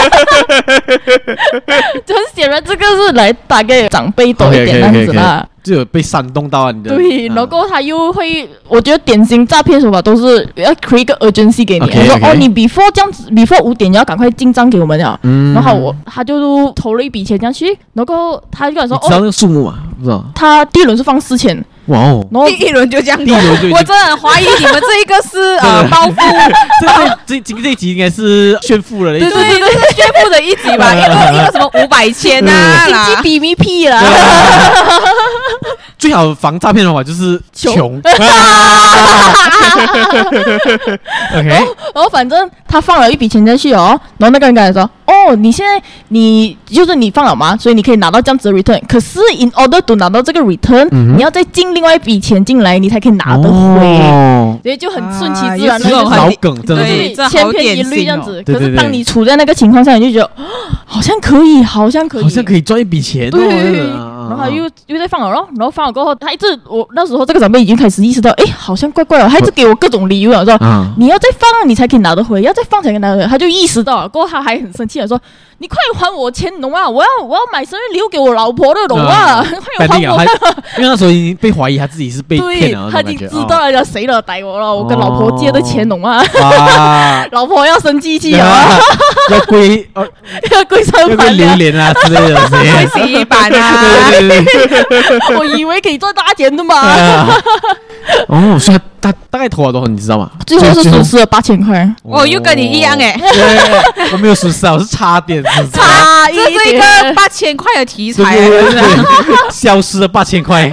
很顯然，這個是來打給長輩多一點樣子啦。 就有被煽動到啊！你的對，然後他又會，我覺得典型詐騙手法都是要 create 一個 urgency 給你， okay, 說 okay. 哦，你 before 這樣子 ，before 五點你要趕快進賬給我們了。嗯，然後我他就投了一筆錢進去，然後他就跟我說， 你知道那個數目嗎？不知道。 他第一輪是放四千。 哇哦！ 然後第一輪就這樣， 第一輪就， 我真的很懷疑你們這一個是呃包袱。 這這這這一集應該是炫富了， 對對對，對是炫富的一集吧？一個一個什麼五百千啊， 經濟比咪屁啦。 最好防詐騙的方法就是窮。OK， 然後反正他放了一筆錢進去哦，然後那個人跟他說：“哦，你現在你就是你放了嗎？所以你可以拿到這樣子的 return。可是 in order to 拿到這個 return，、嗯、你要再進另外一筆錢進來，你才可以拿得回。哦、所以就很順其自然的、 啊、老梗，真的是千篇一律這樣子。 對對對， 可是當你處在那個情況下，你就覺得好像可以，好像可以， 好像可以賺一筆錢。 對， 哦、 然後他又又在放了咯，然後放了過後，他一直我那時候這個長輩已經開始意識到，哎，好像怪怪的，他一直給我各種理由了，說、嗯、你要再放你才可以拿得回，要再放才可以拿得回。他就意識到了，過後他還很生氣的說：“你快還我錢，懂嗎？我要我要買生日禮物給我老婆的，懂嗎？快還我！” 因為那時候已經被懷疑他自己是被騙了， 他已經知道了誰了逮我了，我跟老婆借的錢，懂嗎？ 啊、 老婆要生氣氣啊！ 要歸要歸上盤榴蓮啊之類的， 歸洗衣板啊！ 對對對我以為可以賺大錢的嘛。 哦，所以他大概投了多少，你知道嗎？ 最後是損失了八千塊。 哦，又跟你一樣哎。 我沒有損失啊，我是差點損失。 差一點。 這是一個八千塊的題材， 消失了八千塊。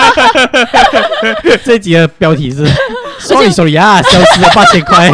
這一集的標題是 Sorry Sorry 啊，消失了八千塊。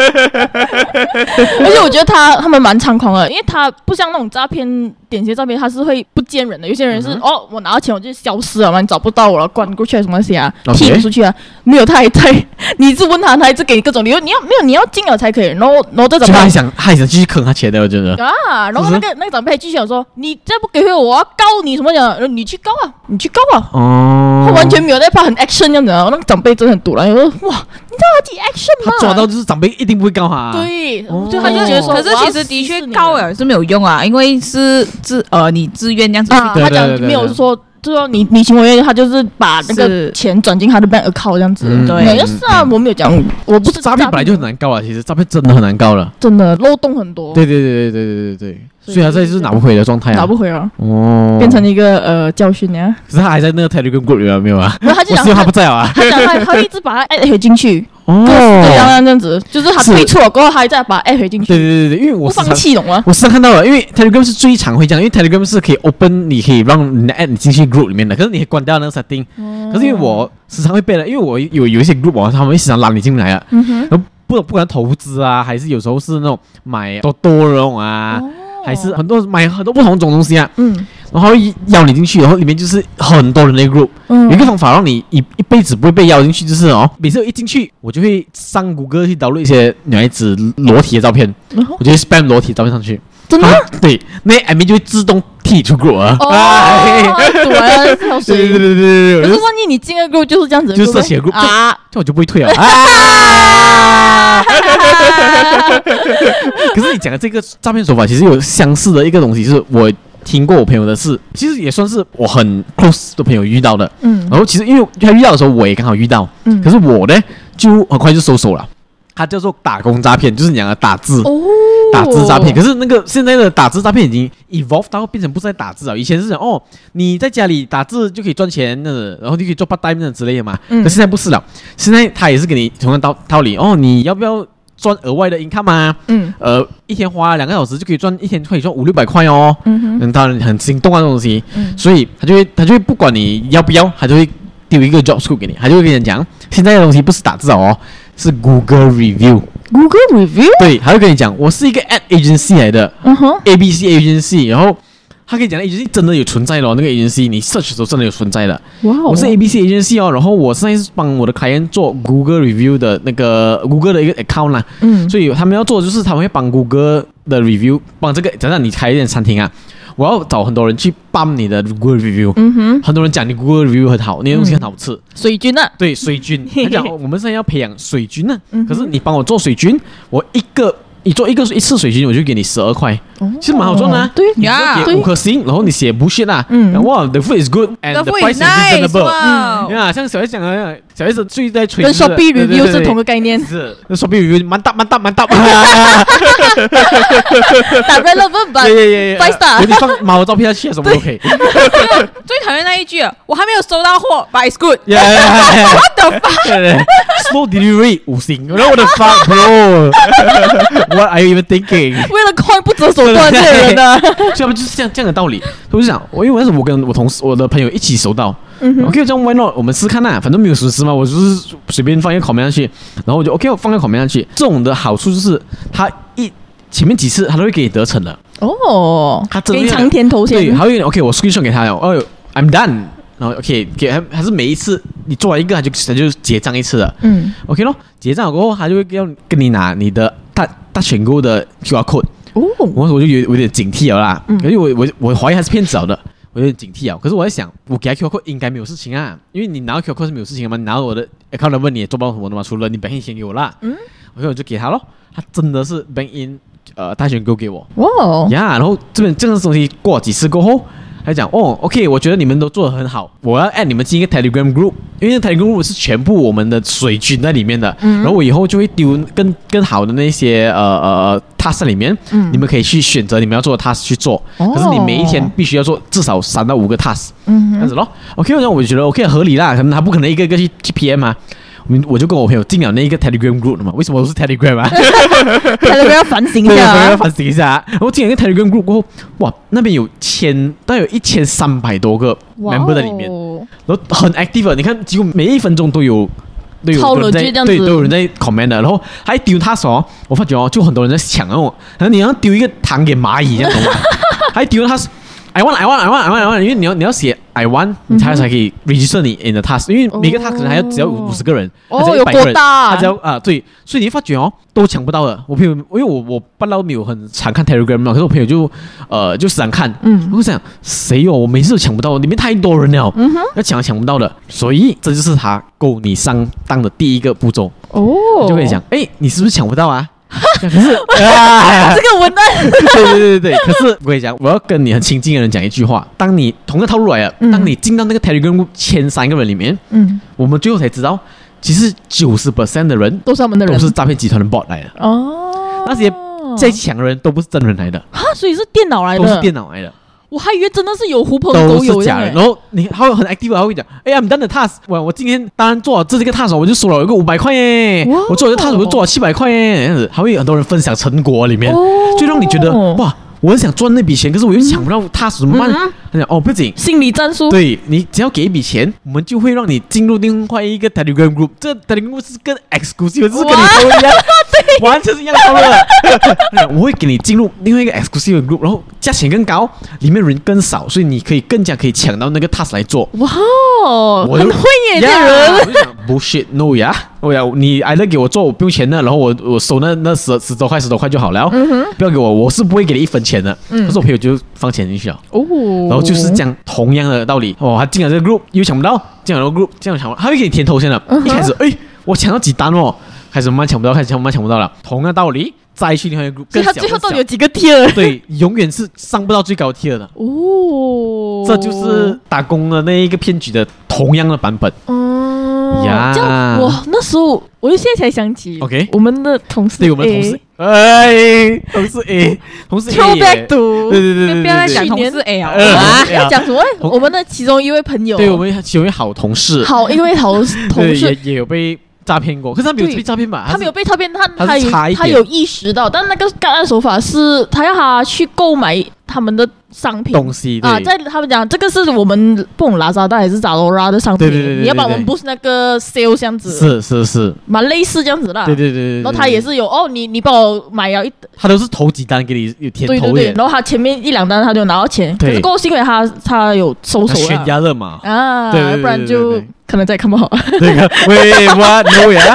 而且我覺得他他們蠻猖狂的，因為他不像那種詐騙，典型詐騙他是會不見人的。有些人是、嗯、哦，我拿到錢我就消失了嘛，你找不到我了，關過去什麼東西啊，踢不出去啊，沒有，他還在。你一直問他，他一直給你各種理由，你要沒有你要金額才可以。然後然後這種他還想他還想繼續坑他錢的，我覺得啊。然後那個那個長輩繼續講說，你再不給回我，我要告你什麼講？你去告啊，你去告啊。哦，他完全沒有在怕，很 action 這樣子。那個長輩真的很堵了，我說哇，你知道他幾 action 嗎？ 他抓到就是長輩一定不會告他、啊。 對， 哦、 就他就覺得說， 可是其實的確告了是沒有用啊，因為是自呃你自願這樣子去、 啊。他講沒有說。就說你你情我願，他就是把那個錢轉進他的 bank account 這樣子。嗯、對，就是啊，嗯、我沒有講，我不是詐騙， 本來就很難告啊。其實詐騙真的很難告了， 真的漏洞很多。 對對對對對對對對。所以他這是拿不回的狀態啊， 拿不回了哦，變成一個呃教訓呀。可是他還在那個 Telegram group 裡面沒有啊？ 他就講他不在啊， 他講他他一直把他 add 回進去，哦，對，這樣這樣子，就是他退出了過後，他還在把 add 回進去。 對對對對，因為我不放棄懂嗎？ 我時常看到了，因為 Telegram 是最常會這樣，因為 Telegram 是可以 open，你可以讓你 add 你進去 group 裡面的，可是你可以關掉那個 setting。可是因為我時常會背了，因為我有有一些 group 啊，他們會時常拉你進來啊，然後不不管投資啊，還是有時候是那種買多多那種啊。還是很多買很多不同種東西啊，嗯，然後邀你進去，然後裡面就是很多人的 group，嗯，有一個方法讓你一一輩子不會被邀進去，就是哦，每次我一進去，我就會上谷歌去導入一些女孩子裸體的照片，嗯、我就會 spam 裸體照片上去， 真的？ 對，那 admin 就會自動踢出 group 啊， 哦，對啊，跳水，對對對對對。可是萬一你進個 group 就是這樣子， 就是這些 group 啊，這我就不會退了。可是你講的這個詐騙手法，其實有相似的一個東西，就是我聽過我朋友的事，其實也算是我很 close 的朋友遇到的。嗯，然後其實因為他遇到的時候，我也剛好遇到。嗯，可是我呢，就很快就收手了。他叫做打工詐騙，就是你講的打字，哦、打字詐騙。可是那個現在的打字詐騙已經 evolve 到變成不是在打字了。以前是講哦，你在家裡打字就可以賺錢的，然後就可以做 part time 之類的嘛。嗯，可現在不是了，現在他也是給你同樣道道理哦，你要不要賺額外的 income 啊？嗯，呃，一天花兩個小時就可以賺，一天可以賺五六百塊哦。嗯哼，當然很心動啊，這種東西。嗯，所以他就會他就會不管你要不要，他就會丟一個 job scope 給你，他就會跟你講，現在的東西不是打字哦。是 Google Review，Google Review， 對，他會跟你講，我是一個 ad agency 來的，嗯哼 ，A B C agency， 然後他跟你講的 agency 真的有存在的哦，那個 agency 你 search 的時候真的有存在的，哇、wow，我是 A B C agency 哦，然後我現在是幫我的 client 做 Google Review 的那個 Google 的一個 account 啦，嗯，所以他們要做的就是他們會幫 Google 的 review，幫這個，假設你開一間餐廳啊。 我要找很多人去幫你的 Google Review， 嗯哼， 很多人講你 Google Review 很好，你的東西很好吃，嗯、 水軍啊， 對水軍，他講我們現在要培養水軍呢、啊，可是你幫我做水軍，我一個。你做一個一次水軍，我就給你十二塊，其實蠻好賺的、啊。 對呀，給五顆星，然後你寫 bullshit 啦，嗯，哇 ，the food is good and the price is reasonable。呀，像小 S 講的，小 S 最在吹， 跟 Shopee review 是同個概念。 是，那 Shopee review 蠻大蠻大蠻大。 打 relevant 吧 ，five star。 你放貓照片下去，什麼都可以。 最討厭那一句，我還沒有收到貨 ，but it's good。 What the fuck？Slow delivery 五星，What the fuck, bro？What are you even thinking？ 為了 coin 不擇手段，這些人呢？ 所以他們就是這樣這樣的道理。我就想，我因為那時候我跟我同事、我的朋友一起收到、嗯、，OK， 這樣 why not？我們試看吶，反正沒有實施嘛，我就是隨便放一個 comment 上去，然後我就 OK， 我放一個 comment 上去。這種的好處就是，他一前面幾次他都會給你得逞的。哦，他真的給你長天頭銜。 對，還會 OK， 我 screenshot 給他了，哦 ，I'm done。然後 OK， 給還還是每一次你做完一個，他就他就結賬一次的。嗯 ，OK 咯，結賬過後，他就會要跟你拿你的大大選購的 Q R code。哦，我我就有有點警惕了啦，嗯、因為我我我懷疑他是騙子了的，我有點警惕啊。可是我在想，我給他 Q R code 應該沒有事情啊，因為你拿到 Q R code 是沒有事情的嘛，你拿到我的 account number 你也做不到什麼的嘛，除了你 bank in 先給我啦。嗯 ，OK 我就給他咯，他真的是 bank in 呃大選購給我。哦，呀，然後這邊這個東西過幾次過後。他講哦 ，OK， 我覺得你們都做得很好，我要 add 你們進一個 Telegram group， 因為 Telegram group 是全部我們的水軍在裡面的，嗯、然後我以後就會丟更更好的那些呃呃 task 裡面，嗯、你們可以去選擇你們要做的 task 去做，哦、可是你每一天必須要做至少三到五個 task，嗯、這樣子咯。OK， 那我覺得 OK 合理啦，可能他不可能一個一個去去 P M 啊。我就跟我朋友進了那一個 Telegram group 了嘛，為什麼我是 Telegram 啊 ？Telegram 要反省一下、啊， 要反省一下。然後進了一個 Telegram group 過後，哇，那邊有千，大概有一千三百多個 member 在裡面，然後很 active， 你看幾乎每一分鐘都有都有人在，對，都有人在 comment 的。然後還丟他手，我發覺哦，就很多人在搶哦，然後你要丟一個糖給螞蟻這樣懂嗎？還丟他。I want, I want, I want, I want, I want， 因為你要你要寫 I want， 你才才可以 register 你 in the task， 因為每個 task 可能還要只要五十個人， 哦， 只要一百個人， 他只要啊、呃、對，所以你會發覺哦，都搶不到的。我朋友，因為我我不嬲沒有很常看 Telegram 嘛，可是我朋友就呃就時常看，嗯，我想誰哦，我每次都搶不到，裡面太多人了，嗯哼，要搶搶不到的，所以這就是他勾你上當的第一個步驟哦，就可以講，哎，你是不是搶不到啊？可是啊， 這個文案， 對對對對，可是我跟你講，我要跟你很親近的人講一句話：當你同個套路來了，嗯、當你進到那個 Telegram 前三個人裡面，嗯，我們最後才知道，其實九十 percent 的人都是他們的人， 都是詐騙集團的 bot 來的哦。那些最強的人都不是真人來的， 哈，所以是電腦來的， 都是電腦來的。我還以為真的是有狐朋狗友， 都是假的。然後你他會很 active， 他會講，哎呀，I'm done the task，我我今天當然做了這這個 task，我就收了一個五百塊耶，哇我做了這個 task，我就做了七百塊耶，這樣子，還會有很多人分享成果裡面，哦、就讓你覺得哇。我很想賺那筆錢，可是我又搶不到他怎麼辦？嗯、他講哦，不僅心理戰術， 對，你只要給一筆錢，我們就會讓你進入另外一個 Telegram group。這 Telegram group 是跟 exclusive， 就是跟你說一樣，完全是一樣的了。我會給你進入另外一個 exclusive group，然後價錢更高，裡面人更少，所以你可以更加可以搶到那個 task 來做。哇，我很會耶，這人。 我就想 bullshit no 呀，我呀，你挨了給我做，我不用錢的，然後我我收那那十十多塊十多塊就好了，嗯、哼不要給我，我是不會給你一分錢的。嗯，可是我朋友就放錢進去了，哦，然後就是這樣同樣的道理，哦，他進了這個 group 又搶不到，進了這個 group 這樣搶不到，他會給你填頭先的，嗯、哼一開始哎，我搶到幾單哦，開始慢慢搶不到，開始慢慢搶不到了，同樣的道理再去另外一個 group， 所以他最後到底有幾個 tier？ 對，永遠是上不到最高 tier 的，哦，這就是打工的那一個騙局的同樣的版本， 嗯呀，這樣我那時候我就現在才想起，OK， 我們的同事， 對，我們的同事。哎，同事 A， 同事 A， back to， 對對對對， 不要再講同事 A 啊，要講什麼？我們的其中一位朋友， 對我們其中一位好同事， 好一位好同事也也有被詐騙過，可是他沒有被詐騙吧？ 他沒有被詐騙，他他有他有意識到，但那個干案手法是他要他去購買他們的商品東西啊，在他們講這個是我們不懂拉薩達還是扎羅拉的商品，對對對，你要把我們不是那個 sale 這樣子， 是是是， 蠻類似這樣子啦， 對對對， 然後他也是有哦，你你幫我買了一， 他都是頭幾單給你有甜頭的， 對對對，然後他前面一兩單他就拿到錢，可是過後是因為他他有收手了， 懸崖勒馬啊，不然就可能再看不好。 對個，喂，what no 呀？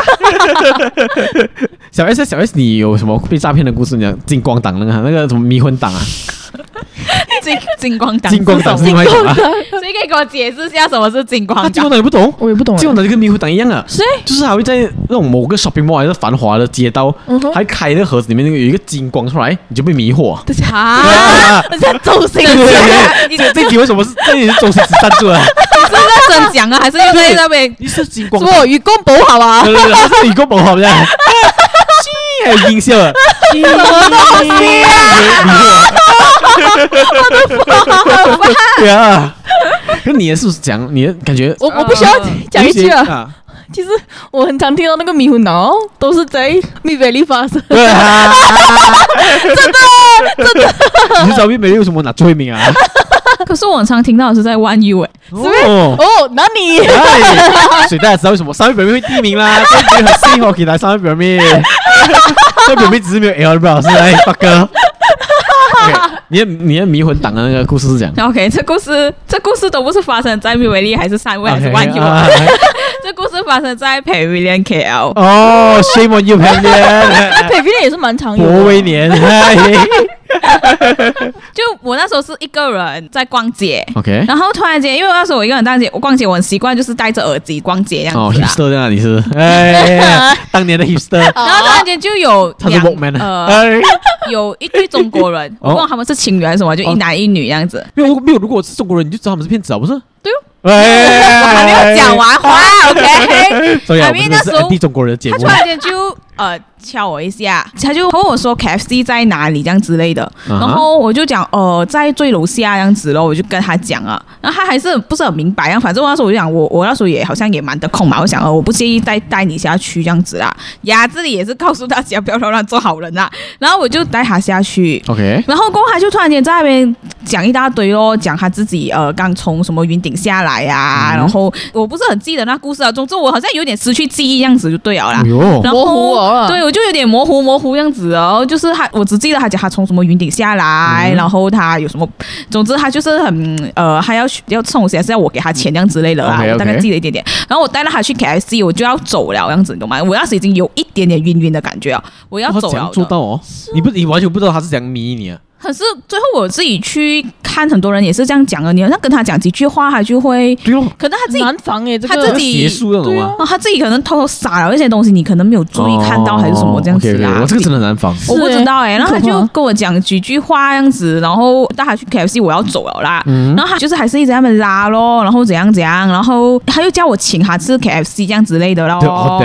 小 S 小 S， 你有什麼被詐騙的故事？你講進光黨那個那個什麼迷魂黨啊？ 金金光黨， 金光黨是另外一種啊。 所以可以給我解釋一下什麼是金光黨？ 金光黨你不懂？ 我也不懂。 金光黨就跟迷糊黨一樣啊， 是， 就是還會在那種某個 shopping mall 還是繁華的街道，還開那個盒子裡面那個有一個金光出來，你就被迷惑。 啊！這是周星馳。 這這題為什麼是這裡是周星馳贊助啊？ 你是在真講啊，還是又在那邊？ 你是金光？ 我愚公不好啊！ 對對對，是愚公不好這樣。還有音效啊！ 什麼東西啊？ 對啊，那你的是不是講？你的感覺？ 我我不需要講一句啊。其實我很常聽到那個迷糊腦都是在蜜貝利發生。 對啊， 真的真的。 你知道蜜貝利為什麼拿最後一名啊？ 可是我很常聽到的是在One U哎， 是不是？哦，哪裡？ 所以大家知道為什麼三位表妹會第一名啦？所以很幸運給來三位表妹，三位表妹只是沒有 L 表示哎，八哥。Okay, 你的你的迷魂黨的那個故事是這樣 OK， 這故事這故事都不是發生在蜜維利還是三位還是One U，這故事發生在Pavilion K L。 哦 ，Shame on you Pavilion，Pavilion 也是蠻常有的。 博威年。 就我那時候是一個人在逛街 ，OK， 然後突然間，因為那時候我一個人逛街，我逛街我很習慣就是戴着耳機逛街這樣子。哦 ，hipster 在哪裡是？哎，當年的 hipster。然後突然間就有兩呃， 有一對中國人，我不知道他們是情侶還是什麼，就一男一女這樣子。 沒有沒有，如果我是中國人，你就知道他們是騙子啊，不是？ 對哦。我還沒有講完話 ，OK？ 所以我們是安迪中國人的節目。 他突然間就呃敲我一下，他就問我說 K F C 在哪裡這樣之類的，然後我就講呃在最樓下這樣子咯，我就跟他講啊，然後他還是不是很明白啊，反正我那時候我就講我我那時候也好像也蠻得空嘛，我想呃我不介意帶帶你下去這樣子啦，呀這裡也是告訴大家不要亂做好人啦，然後我就帶他下去 ，OK， 然後過後他就突然間在那邊講一大堆咯，講他自己呃剛從什麼雲頂下來呀、啊，嗯、然後我不是很記得那故事啊，總之我好像有點失去記憶這樣子就對了啦，哎、然後模糊了，對我就有點模糊模糊這樣子哦，就是他我只記得他講他從什麼雲頂下來，嗯、然後他有什麼，總之他就是很呃還要要送東西還是要我給他錢這樣之類的啦， okay, okay. 我大概記得一點點，然後我帶了他去 K F C， 我就要走了這樣子，你懂嗎？我那時已經有一點點暈暈的感覺啊，我要走了。 做到哦，你不你完全不知道他是怎樣迷你啊。 可是最後我自己去看，很多人也是這樣講的。你好像跟他講幾句話，他就會，對哦，可能他自己難防耶，這個、他自己邪術那種啊， 他自己可能偷偷撒了一些東西，你可能沒有注意看到，還是什麼這樣子啊？ okay, okay, 我這個真的難防， 我不知道哎、欸。然後他就跟我講幾句話這樣子，然後帶他去 K F C， 我要走了啦。嗯、然後他就是還是一直在那邊拉咯，然後怎樣怎樣，然後他又叫我請他吃 K F C 這樣之類的咯。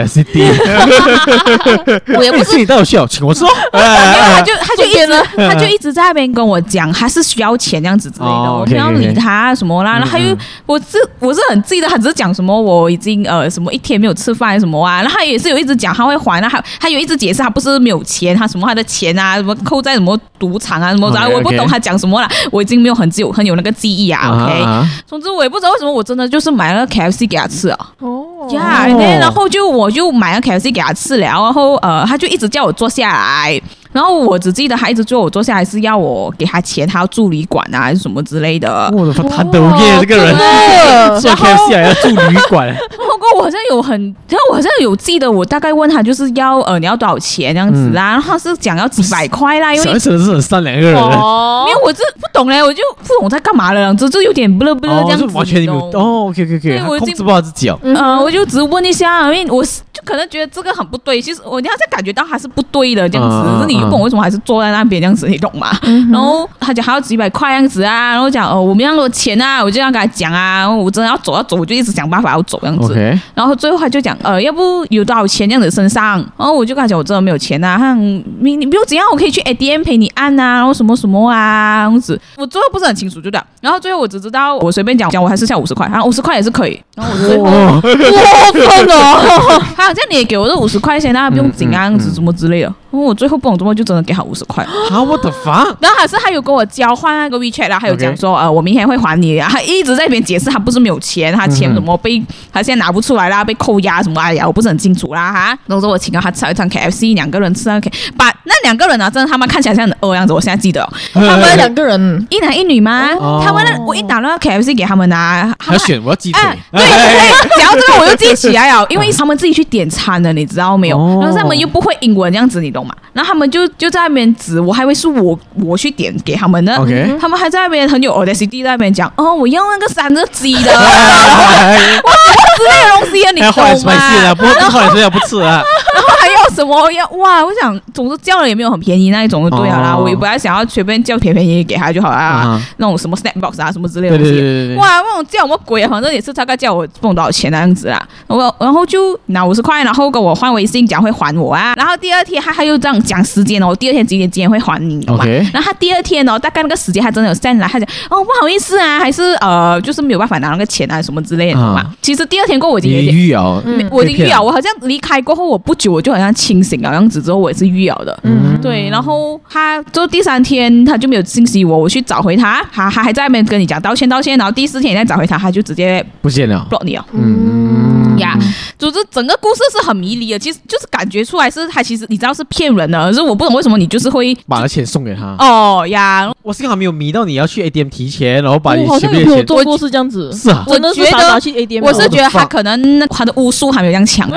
我也不是， 你帶我去哦，請我吃哦。 他就他就一直他就一直在那邊跟我講。還是需要錢這樣子之類的，我不要理他什麼啦。然後他又，我是我是很記得，他只是講什麼我已經呃什麼一天沒有吃飯什麼啊。然後他也是有一直講他會還，他他有一直解釋他不是沒有錢，他什麼他的錢啊什麼扣在什麼賭場啊什麼，然後我不懂他講什麼啦，我已經沒有很有很有那個記憶啊。OK，總之我也不知道為什麼我真的就是買了 K F C 給他吃啊。哦呀，然後就我就買了 K F C 給他吃了，然後呃他就一直叫我坐下來。然後我只記得他一直叫我坐下來是要我給他錢，他要住旅館啊還是什麼之類的。 我的媽，他都耶這個人，坐 K F C 還要住旅館。 不過我好像有很，然後我好像有記得，我大概問他就是要呃你要多少錢這樣子啦，嗯、然後他是講要幾百塊啦，因為小孩真的是很善良一個人。 哦，因為我這不懂嘞，我就不懂在幹嘛了，這就有點不樂不樂這樣子。哦， 完全沒有哦 ，OK OK OK，我控制不好自己哦。 嗯、呃，我就只問一下，因為我就可能覺得這個很不對，其實我好像感覺到他是不對的這樣子，嗯、是你不懂為什麼還是坐在那邊這樣子，你懂嗎？嗯、然後他講還要幾百塊這樣子啊，然後講哦我沒那麼多錢啊，我就要跟他講啊，我真的要走要走，我就一直想辦法要走這樣子。Okay. 然後最後他就講呃要不有多少錢這樣子身上，然後我就跟他講我真的沒有錢啊，他你你不用怎樣，我可以去 A T M 陪你按啊，然後什麼什麼啊這樣子，我最後不是很清楚就這樣，然後最後我只知道我隨便講講我還是下五十塊，然後五十塊也是可以，然後我最後過分了，他好像你也給我這五十塊錢，那不用緊啊這樣子什麼之類的，然後我最後不懂怎麼就真的給他五十塊。 啊我的媽！ 然後還是他有跟我交換那個 WeChat 啦，還有講說 Okay. 呃我明天會還你啊，他一直在那邊解釋他不是沒有錢，他錢什麼被他現在拿不出來啦，被扣押什麼哎呀我不是很清楚啦哈。然後說我請了他吃了一餐 K F C， 兩個人吃了 K，把那兩個人啊，真的他們看起來像很餓樣子，我現在記得、哦，他們兩個人一男一女嗎？哦、他們我一打那個 K F C 給他們拿， 還要選我要雞腿， 啊、對對對，講到這個我就記起來了，因為他們自己去點餐的，你知道沒有？哦、然後他們又不會英文這樣子，你懂嗎？然後他們就就在那邊指，我還以為是我我去點給他們的， Okay. 他們還在那邊很有 audacity 在那邊講，哦，我要那個三個雞的，哇，之類的東西啊，你懂嗎？ 不過後來說要不吃啊。 然後還要什麼要哇？我想，總之叫了也沒有很便宜那一種就對了啦。哦、我也不要想要隨便叫便便宜給他就好啦。嗯、那種什麼 snack box 啊什麼之類的東西，對對對對，哇，那種叫什麼鬼啊？反正也是大概叫我不懂多少錢那樣子啦。我然後就拿五十塊，然後跟我換微信講會還我啊。然後第二天他他又這樣講時間哦，第二天幾點幾點會還你嘛？ Okay. 然後他第二天哦，大概那個時間他真的有 send 來，他講哦不好意思啊，還是呃就是沒有辦法拿那個錢啊什麼之類的嘛。嗯、其實第二天過後我已經有點預咬， 嗯、我已經預咬，我好像離開過後我不久我就好像清醒了樣子，之後我也是預咬的，嗯，對，然後他就第三天他就沒有信息我，我去找回他，他他還在那邊跟你講道歉道歉，然後第四天你再找回他，他就直接不見了 block 你了， 嗯呀，總之整個故事是很迷離的，其實就是感覺出來是他其實你知道是騙人的，可是我不懂為什麼你就是會把錢送給他哦呀， 我是剛好沒有迷到你要去 A T M 提錢，然後把你好像有做過是這樣子， 是啊， 真的是傻傻去 A T M， 我是覺得他可能他的巫術還沒有這樣強，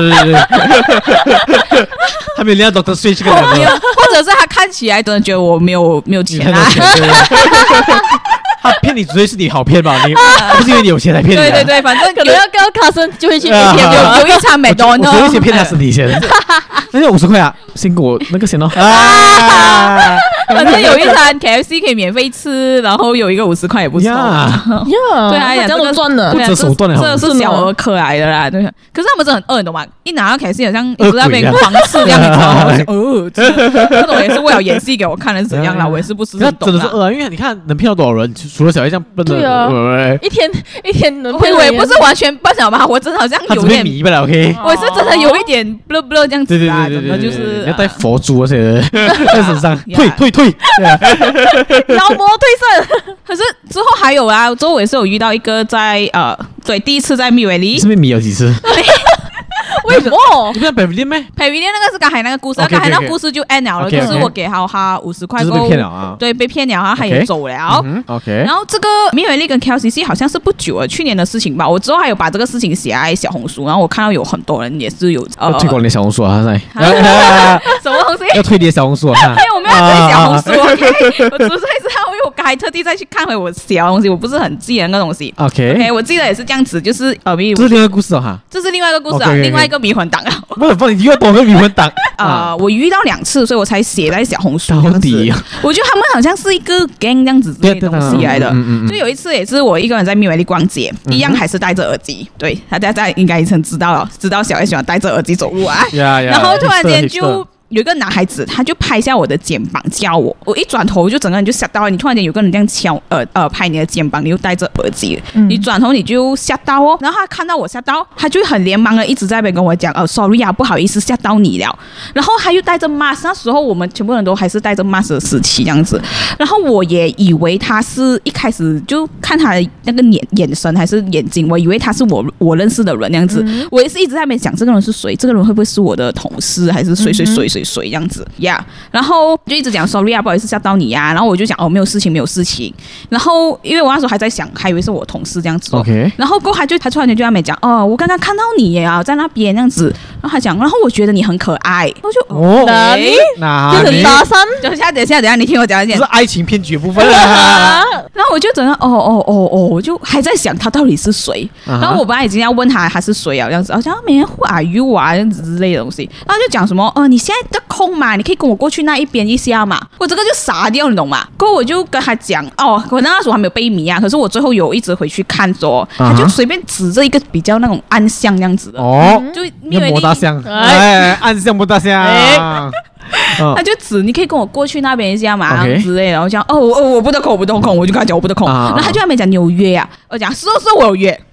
他沒有練到 Doctor Strange 這個人， 或者是他看起來真的覺得我沒有沒有錢啊。 他騙你，絕對是你好騙吧？你不是因為你有錢才騙你。 對對對，反正可能要跟卡森就會去 A T M，有有一餐麥當勞， 我有一些騙他身體錢，那就五十塊啊，辛苦我那個錢哦。 反正有一餐 K F C 可以免費吃，然後有一個五十塊也不錯。 呀， 對啊， 這樣都賺了， 不擇手段的， 這是小兒科來的啦。對，可是他們真的很餓，你懂嗎？一拿到 K F C 好像一直在那邊狂吃這樣，你知道嗎？哦，這種也是為了演戲給我看的是怎樣啦？我也是不是很懂。 真的是餓啊，因為你看能騙到多少人？除了小孩這樣笨的， 對啊，一天一天能騙， 我也不是完全笨了吧？我真的好像有點迷不了 OK， 我是真的有一點 blur blur 這樣子啊， 對对对对，就是要帶佛珠那些在身上，退退退， 妖魔對勝。可是之後還有啊，之後我也是有遇到一個在呃，對，第一次在蜜維利， 是不是迷有幾次？ 為什麼？ 你不是 Pavilion 咩 ？Pavilion 那個是剛才那個故事，剛才那個故事就 end 了，就是我給他他五十塊， 就是被騙了啊。 對，被騙了，然後他也走了。 OK。 然後這個蜜維利跟 K L C C 好像是不久了，去年的事情吧。我之後還有把這個事情寫在小紅書，然後我看到有很多人也是有呃推廣你的小紅書啊，在什麼東西？ 要推你的小紅書啊？ 沒有，我沒有推小紅書。OK，我只是知道，因為我剛才特地再去看回我寫的東西，我不是很記得那個東西。OK，我記得也是這樣子，就是呃， 這是另外一個故事哈， 這是另外一個故事啊，另外一個迷魂黨啊。 不是，不，你又多個迷魂黨啊！我遇到兩次，所以我才寫在小紅書。 到底， 我覺得他們好像是一個 gang 這樣子之類的東西來的。就有一次也是我一個人在蜜維利逛街，一樣還是戴着耳機。對，大家在應該已經知道了，知道小孩喜歡戴着耳機走路啊。然後突然間就有一個男孩子，他就拍下我的肩膀叫我，我一轉頭就整個人就嚇到了。你突然間有個人這樣敲呃呃拍你的肩膀，你又戴着耳機，嗯、你轉頭你就嚇到哦。然後他看到我嚇到，他就很連忙的一直在那邊跟我講，呃，sorry 啊，不好意思嚇到你了。然後他又戴着 mask， 那時候我們全部人都還是戴着 mask 的時期這樣子。然後我也以為他是一開始就看他的那個眼眼神還是眼睛，我以為他是我我認識的人這樣子。嗯、我也是一直在那邊想，這個人是誰？這個人會不會是我的同事，還是誰誰誰誰誰這樣子呀？ Yeah, 然後就一直講 sorry 啊，不好意思嚇到你呀、啊。然後我就講哦，沒有事情，沒有事情。然後因為我那時候還在想，還以為是我同事這樣子、哦。OK。然後過後他就他突然間就在那邊講哦，我剛剛看到你啊，在那邊這樣子。然後他講，然後我覺得你很可愛。我就哦，哪裡？哪裡？就很搭訕。等一下，等一下，等一下，你聽我講一點。 這是愛情騙局的部分啊。 然後我就整個哦哦哦哦，我就還在想他到底是誰。然後我本來已經要問他他是誰啊，這樣子，好像每天 who are you 啊這樣子之類的東西。然後就講什麼呃，你現在的空嘛，你可以跟我過去那一邊一下嘛。我這個就傻掉，你懂嗎？過後我就跟他講哦，可能那時候還沒有被迷啊，可是我最後有一直回去看着，他就隨便指着一個比較那種暗巷這樣子的哦，就莫大巷，哎，暗巷莫大巷。他就指你可以跟我過去那邊一下嘛 Okay. 之類的，然後講哦哦我不得空，我不得空，我就跟他講我不得空，啊、然後他就還沒講你有約啊，我講是是我有約。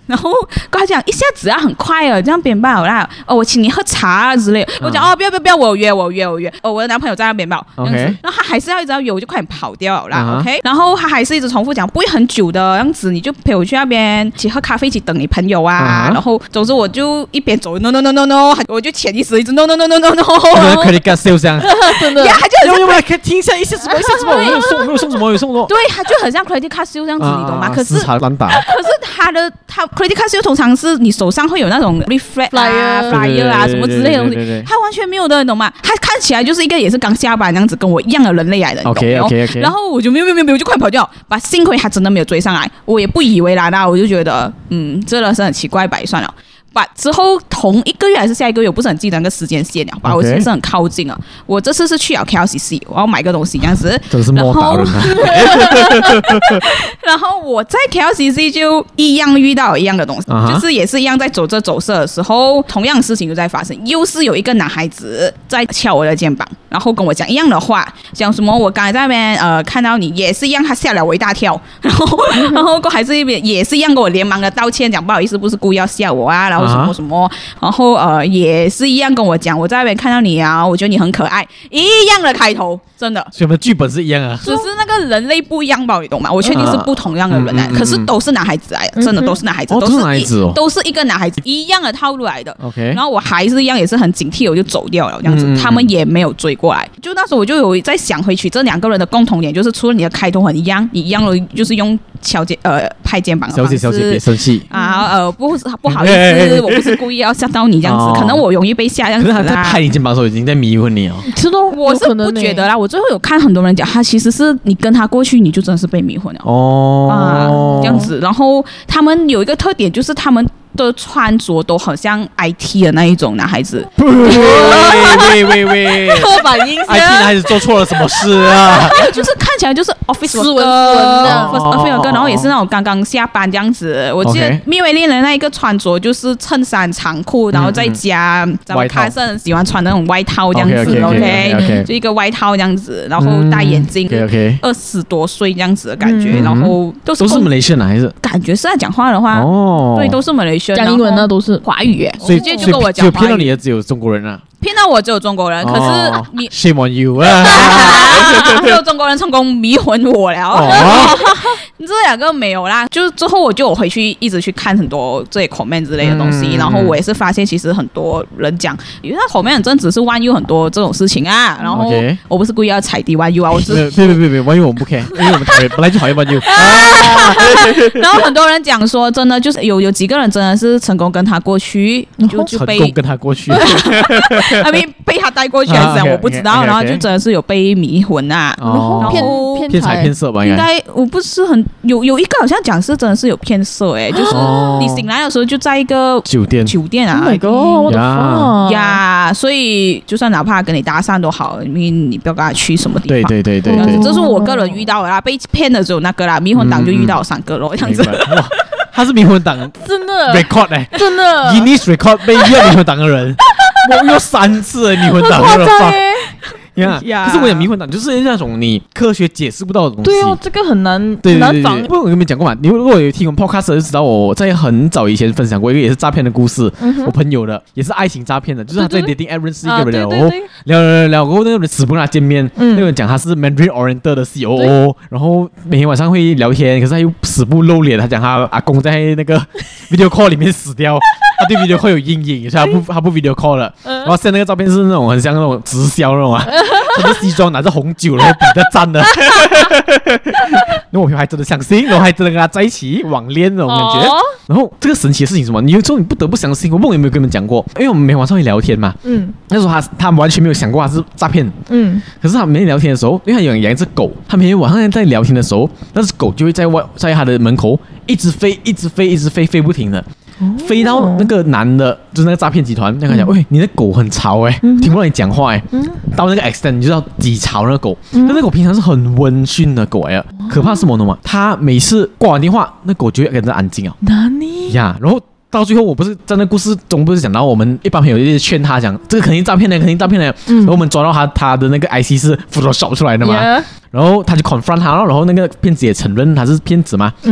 然後跟他講一下子啊，很快啊，這樣邊吧啦。哦，我請你喝茶啊之類的。我講、嗯、哦，不要不要不要，我有約我有約我有約。哦，我的男朋友在那邊吧。OK。然後他還是要一直要約，我就快點跑掉了啦。Uh-huh. OK。然後他還是一直重複講，不會很久的樣子，你就陪我去那邊一起喝咖啡，一起等你朋友啊。Uh-huh. 然後總之我就一邊走 ，no no no no no， 我就潛意識一直 no no no no no no。 credit card sale 這樣， 真的。呀，他就很像。 可以聽一下一下什麼一下什麼，我沒有送，我沒有送什麼，我有送什麼。 對，他就很像 credit card sale 這樣子，你懂嗎？可是可是他的他 credit card sale 通常是你手上會有那種 reflect 啊 flyer 啊什麼之類的東西，他完全沒有的，你懂嗎？他看起來就是一個也是剛下班這樣子，跟我一樣的人類來的。 OK OK OK。 然後我就沒有沒有沒有沒有就快跑掉，把幸虧他真的沒有追上來，我也不以為然啦，我就覺得嗯，真的是很奇怪，白算了。把之後同一個月還是下一個月，我不是很記得那個時間線了。把、okay. 我其實很靠近了。我這次是去了 K L C C， 我要買個東西這樣子。 真是莫打人啊！ 然後我在 K L C C 就一樣遇到一樣的東西， uh-huh. 就是也是一樣在走這走色的時候，同樣的事情就在發生。又是有一個男孩子在敲我的肩膀，然後跟我講一樣的話，講什麼我剛才在那邊呃看到你也是一樣，他嚇了我一大跳。然後然後還是一邊也是一樣跟我連忙的道歉，講不好意思，不是故意要嚇我啊，然後。什麼什麼，然後呃也是一樣跟我講，我在那邊看到你啊，我覺得你很可愛，一樣的開頭，真的。 所以我們的劇本是一樣啊， 只是那個人類不一樣吧，你懂嗎？我確定是不同樣的人來的，嗯嗯嗯嗯，可是都是男孩子來的，真的都是男孩子， 嗯、 都是男孩子哦， 都是一個男孩子，一樣的套路來的。 OK， 然後我還是一樣，也是很警惕，我就走掉了，這樣子，嗯嗯，他們也沒有追過來。就那時候我就有在想回去，這兩個人的共同點就是，除了你的開頭很一樣，你一樣的就是用敲肩呃拍肩膀的方式， 小姐小姐別生氣啊，呃不不好意思，欸欸欸，我不是故意要嚇到你這樣子，哦，可能我容易被嚇這樣子。可是他在拍你肩膀的時候已經在迷昏你哦。 其實我是不覺得啦，我最後有看很多人講，他其實是你跟他過去，你就真的是被迷昏了哦啊這樣子。然後他們有一個特點，就是他們的穿着都很像 I T 的那一種男孩子。 喂喂喂喂， 刻板印象 ，I T 男孩子做錯了什麼事啊？ 就是看起來就是 office 斯文斯文的 office worker，然後也是那種剛剛下班這樣子。我記得《蜜薇戀人》那一個穿着就是襯衫長褲，然後再加咱們卡森喜歡穿那種外套這樣子 ，OK，就一個外套這樣子，然後戴眼鏡，二十多歲這樣子的感覺，然後都是都是馬來西亞男孩子， 感覺是在講話的話，哦，對，都是馬來西亞。 講英文的都是華語耶， 所以直接就跟我講， 就騙到你的只有中國人啊， 騙到我只有中國人，可是你 shame on you 啊， 只有中國人成功迷昏我了，哦、這兩個沒有啦。就之後我就回去一直去看很多這些 comment 之類的東西，嗯、然後我也是發現其實很多人講，因為他 comment 真的只是 One U 很多這種事情啊，然後我不是故意要踩低 One U 啊，我是別別別別 One U 我們不 care，因為我們討厭本來就討厭 One U， 然後很多人講說真的就是有有幾個人真的是成功跟他過去，就就被成功跟他過去 ，I mean 被他帶過去還是怎樣，我不知道，然後就真的是有被迷昏啊，然後騙騙財騙色吧， 應該我不是很有有一個好像講是真的是有騙色哎，就是你醒來的時候就在一個酒店酒店啊 ，Oh my god，我的媽呀，所以就算哪怕跟你搭訕都好，因為你不要跟他去什麼地方， 對對對對對， 這是我個人遇到的啦，被騙的只有那個啦，迷魂黨就遇到三個咯，這樣子。 他是迷魂黨， 真的 record 哎， 真的 Guinness record 被遇到迷魂黨的人，我遇到三次迷魂黨的人。呀、yeah, ，可是我講迷魂黨就是那種你科學解釋不到的東西。 對哦，這個很難， 對對對對很難防。 不過我跟你們講過嘛，你如果有聽我們 podcast 就知道我在很早以前分享過一個也是詐騙的故事，嗯、我朋友的也是愛情詐騙的，就是他在 dating app 認識一個人，然後聊聊聊過後那個人死不跟他見面，嗯、那個人講他是 Mandarin Oriental 的 C O O， 然後每天晚上會聊天，可是他又死不露臉，他講他阿公在那個 video call 裡面死掉。他對 video call 有陰影，所以他不他不 video call 了。然後現在那個照片是那種很像那種直銷那種啊，穿着西裝拿着紅酒然後比着讚的。然後我還真的相信，然後還真的跟他在一起網戀那種感覺。哦、然後這個神奇的事情是什麼？你有時候你不得不相信。我不知道有沒有跟你們講過，因為我們每晚上會聊天嘛。嗯。那時候他他完全沒有想過他是詐騙。嗯。可是他每天聊天的時候，因為他有養一隻狗，他每天晚上在聊天的時候，那隻狗就會在外在他的門口一直飛，一直飛，一直飛，飛不停的。飛到那個男的，就是那個詐騙集團，那個講，喂，你的狗很吵哎、欸，嗯、聽不到你講話哎、欸，嗯、到那個 extent 你就要擠吵那個狗，嗯、但那狗平常是很溫馴的狗哎、欸，可怕是什麼呢嘛？他每次掛完電話，那狗就會跟着安靜啊。哪裡呀？然後到最後，我不是在那故事中不是講到我們一般朋友一直勸他講，這個肯定詐騙的，肯定詐騙的。嗯、然後我們抓到他他的那個 I C 是 Photoshop 出來的嘛，yeah. 然後他就 confront 他，然後那個騙子也承認他是騙子嘛。嗯。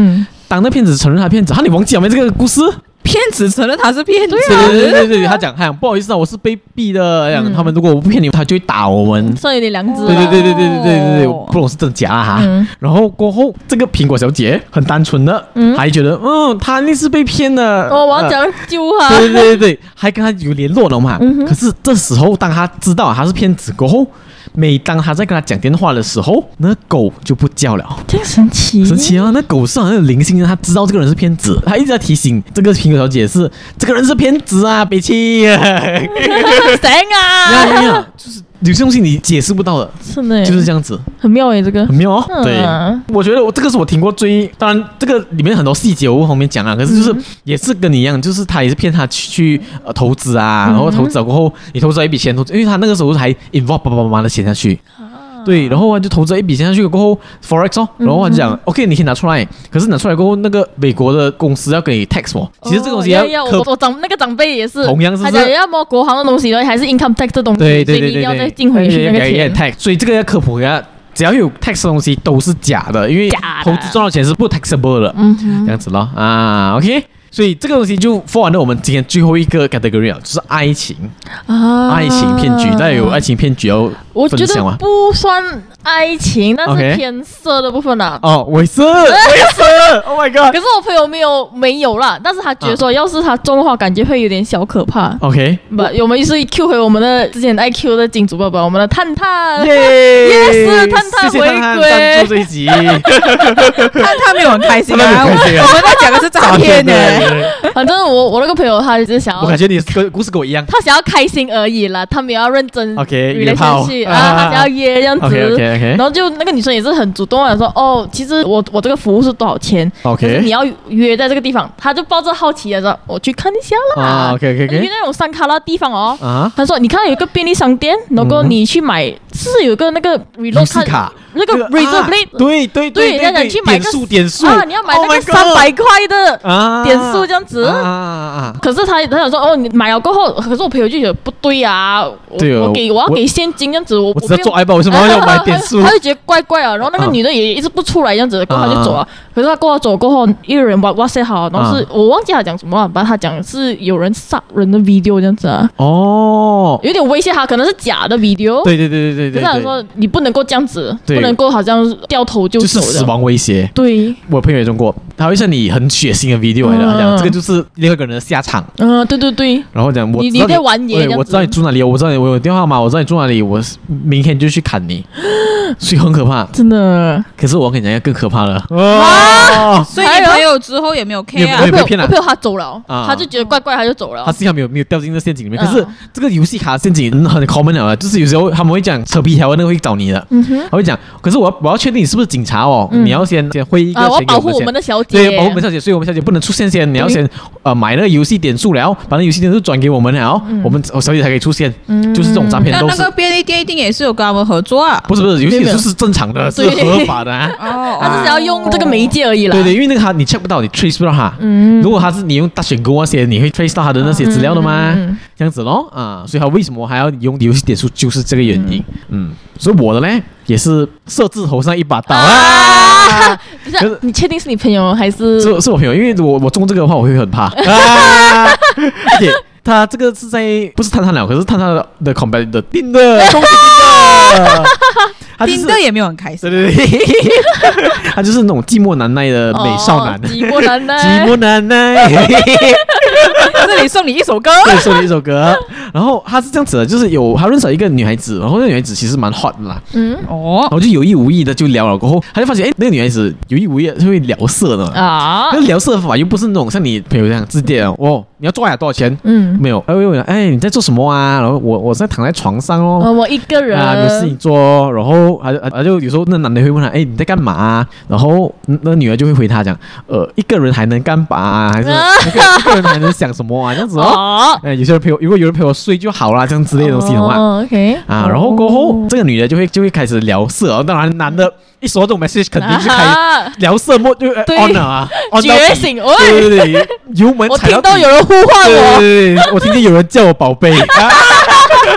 當那騙子承認他騙子，哈，你忘記了沒這個故事？ 騙子承認他是騙子， 對對對對，他講，他講不好意思啊，我是被逼的，講、嗯、他們如果我不騙你，他就會打我們， 算有點良知。 對對對對對對對對，不懂是真假哈、嗯。然後過後，這個蘋果小姐很單純的，嗯、還覺得嗯，他那是被騙的， 哦，我要講救他。 對對對對，還跟他有聯絡了嘛、嗯。可是這時候，當他知道他是騙子過後，每當他在跟他講電話的時候，那狗就不叫了， 這個神奇， 神奇啊！那狗是好像有靈性的，他知道這個人是騙子，他一直在提醒這個蘋果小姐是這個人是騙子啊，別氣啊！ 誰啊？ 沒有沒有，就是有些東西你解釋不到的， 是的， 就是這樣子， 很妙誒，這個很妙哦。 嗯、 對，我覺得我這個是我聽過最，當然這個裡面很多細節我不方便講啊，可是就是、嗯、也是跟你一樣，就是他也是騙他去去呃投資啊，然後投資了過後，你投資了一筆錢投資，因為他那個時候還 involve 爸爸媽媽的錢下去。對，然後就投資一筆錢下去過後 ，forex 哦，然後他就講、嗯、，OK， 你可以拿出來，可是拿出來過後，那個美國的公司要給你 tax 哦。其實這個東西要， 哦、要要我我長那個長輩也是， 同樣是， 他講要麼國行的東西，還是 income tax 的東西， 對對對對對， 所以你一定要再進回去那個錢。 tax，所以這個要科普一下，只要有 tax 的東西都是假的，因為投資賺到錢是不 taxable 的，嗯，這樣子咯啊 ，OK。所以這個東西就 fall under 我們今天最後一個 category 啊，就是愛情啊，愛情騙局。大家有愛情騙局要分享嗎？ 我覺得不算愛情，但是偏色的部分啊。 哦，偽色，偽色 ，Oh my god！ 可是我朋友沒有沒有啦，但是他覺得說，要是他中的話，感覺會有點小可怕。 OK， 不，我們是 Q 回我們的之前愛 Q 的金主爸爸，我們的探探， 耶， 是探探回歸。 這一集， 探探沒有很開心啊，我們在講的是詐騙呢。 反正我我那個朋友他就是想要， 我感覺你跟故事跟我一樣， 他想要開心而已啦，他沒有要認真 OK 約炮啊，他想要約這樣子 OK OK OK， 然後就那個女生也是很主動的說，哦，其實我我這個服務是多少錢 OK， 你要約在這個地方，他就抱着好奇的說，我去看一下啦、 啊、OK OK OK， 約那種山卡拉地方哦、啊，他說你看有一個便利商店，如果你去買、嗯、是有個那個 reload 卡。那個 razor blade，、啊、對對對對，對，去買個點數點數啊，你要買那個三百塊的啊點數這樣子啊，啊可是他他想說哦，你買了過後，可是我朋友就覺得不對啊，對哦、我給我要給現金這樣子，我我知道做愛吧，為什麼要買點數？ 他就覺得怪怪啊，然後那個女的也一直不出來這樣子，過後他就走了。可是他過後走過後，一個人哇哇塞好，然後是、啊、我忘記他講什麼了，把他講是有人殺人的 video 這樣子啊，哦，有點威脅他，可能是假的 video， 對對對對對對，可是他說你不能夠這樣子，不能夠好像掉頭就走，就是死亡威脅。對，我朋友也中過，他會像你很血腥的 video 來的，他講這個就是另外一個人的下場。嗯，對對對。然後講我你你在玩爺，我知道你住哪裡，我知道你我有電話碼，我知道你住哪裡，我明天就去砍你，所以很可怕，真的。可是我跟你講一個更可怕的啊！所以你朋友之後也沒有 care 啊？我朋友我朋友他走了，他就覺得怪怪，他就走了。他幸好沒有沒有掉進這陷阱裡面。可是這個遊戲卡陷阱很 common 了，就是有時候他們會講扯皮條，那個會找你的，嗯哼，他會講，可是我要我要確定你是不是警察哦，嗯、你要先先匯一個錢給我們先，啊，我要保護我們的小姐，對，保護我們小姐，所以我們小姐不能出現先，你要先呃買那個遊戲點數了，把那遊戲點數轉給我們了，嗯、我們我小姐才可以出現，嗯、就是這種詐騙。那那個便利店一定也是有跟他們合作啊？不是不是，遊戲點數是正常的，是合法的，啊，哦，他只是要用這個媒介而已啦。對對，因為那個他你 check 不到，你 trace 不到他。嗯，如果他是你用大選購那些，你會 trace 到他的那些資料的嗎？嗯嗯嗯、這樣子咯，啊，所以他為什麼還要用遊戲點數，就是這個原因。嗯，嗯，所以我的呢也是色字頭上一把刀啊！不是，你確定是你朋友還是？是是我朋友，因為我我中這個的話，我會很怕。啊，okay, 他這個是在不是探探了，可是探探的的 competitor 的定的，恭喜定的。丁哥也沒有很開心，對對對，他就是那種寂寞難耐的美少男，哦、寂寞難耐，寂寞難耐。這裡送你一首歌，對，送你一首歌。然後他是這樣子的，就是有他認識了一個女孩子，然後那個女孩子其實蠻 hot 的啦，嗯，哦，然後就有意無意的就聊了，過後他就發現，哎，那個女孩子有意無意的就會聊色的啊，那聊色的方法又不是那種像你朋友這樣直接哦，你要做呀多少錢？嗯，沒有，哎我問，哎你在做什麼啊？然後我我在躺在床上哦，呃、我一個人啊，有事情做，然後。還還就有時候那男的會問他，哎，你在幹嘛啊？然後那女的就會回他講，呃，一個人還能幹嘛啊？還是一個一個人還能想什麼啊？這樣子哦。哎，有些人陪我，如果有人陪我睡就好啦，這樣之類的東西的話。哦 OK。啊，然後過後這個女的就會就會開始聊色，當然男的一收到這種 message 肯定是開聊色 mode 就 on 了啊，覺醒！對對對，油門踩到。我聽到有人呼喚我，對對對，我聽見有人叫我寶貝。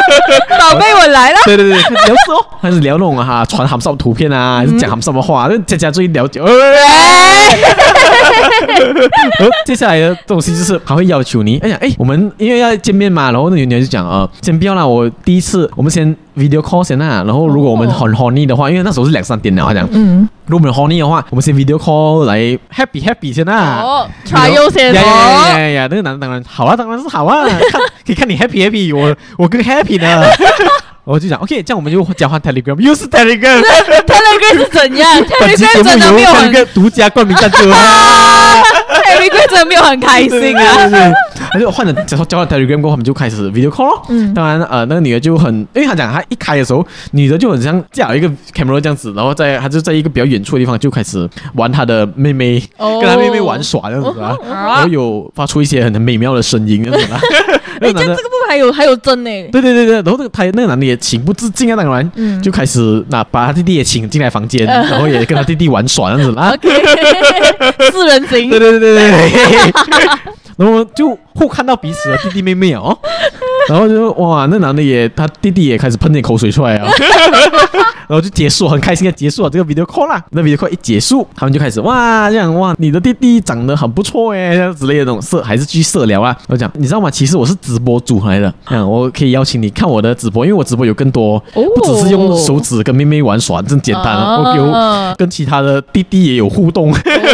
寶貝，我來了。 對對對，聊色哦，還是聊那種哈傳鹹濕圖片啊，還是講鹹濕的話，就佳佳最了解。然後接下來的東西就是他會要求你，哎呀，哎，我們因為要見面嘛，然後那女女就講呃，先不要啦，我第一次我們先 video call 先啦，然後如果我們很 horny 的話，因為那時候是兩三點了，他講，嗯，如果我們 horny 的話，我們先 video call 來 happy happy 先啦， 哦 trial 先， 呀呀呀呀，那個男的當然好啊，當然是好啊，看可以看你 happy happy，我我更 happy 呢。我就講 ，OK， 這樣我們就交換 Telegram， 又是 Telegram，Telegram 是怎樣 ？Telegram 真的沒有很獨家冠名贊助 ，Telegram 真的沒有很開心啊。 他就換了，交交換 Telegram 過後，他們就開始 video call 咯。嗯，當然，呃，那個女的就很，因為他講他一開的時候，女的就很像架一個 camera 這樣子，然後在他就在一個比較遠處的地方就開始玩他的妹妹，哦、跟他妹妹玩耍這樣子啊，哦、然後有發出一些很美妙的聲音這樣子啊。 哎，這這個部分還有還有真呢？對對對對，然後那個他那個男的也情不自禁啊，當然，嗯、就開始那把他弟弟也請進來房間，嗯、然後也跟他弟弟玩耍這樣子啦。 Okay, 四人行。 對對對對對。然後就互看到彼此的弟弟妹妹哦，然後就哇，那男的也他弟弟也開始噴點口水出來啊，然後就結束，很開心的結束了這個 video call 啦。那 video call 一結束，他們就開始哇這樣哇，你的弟弟長得很不錯哎，這樣之類的那種色還是繼續色聊啊。我講你知道嗎？其實我是直播主來的，這樣我可以邀請你看我的直播，因為我直播有更多，不只是用手指跟妹妹玩耍這麼簡單了，我有跟其他的弟弟也有互動，哦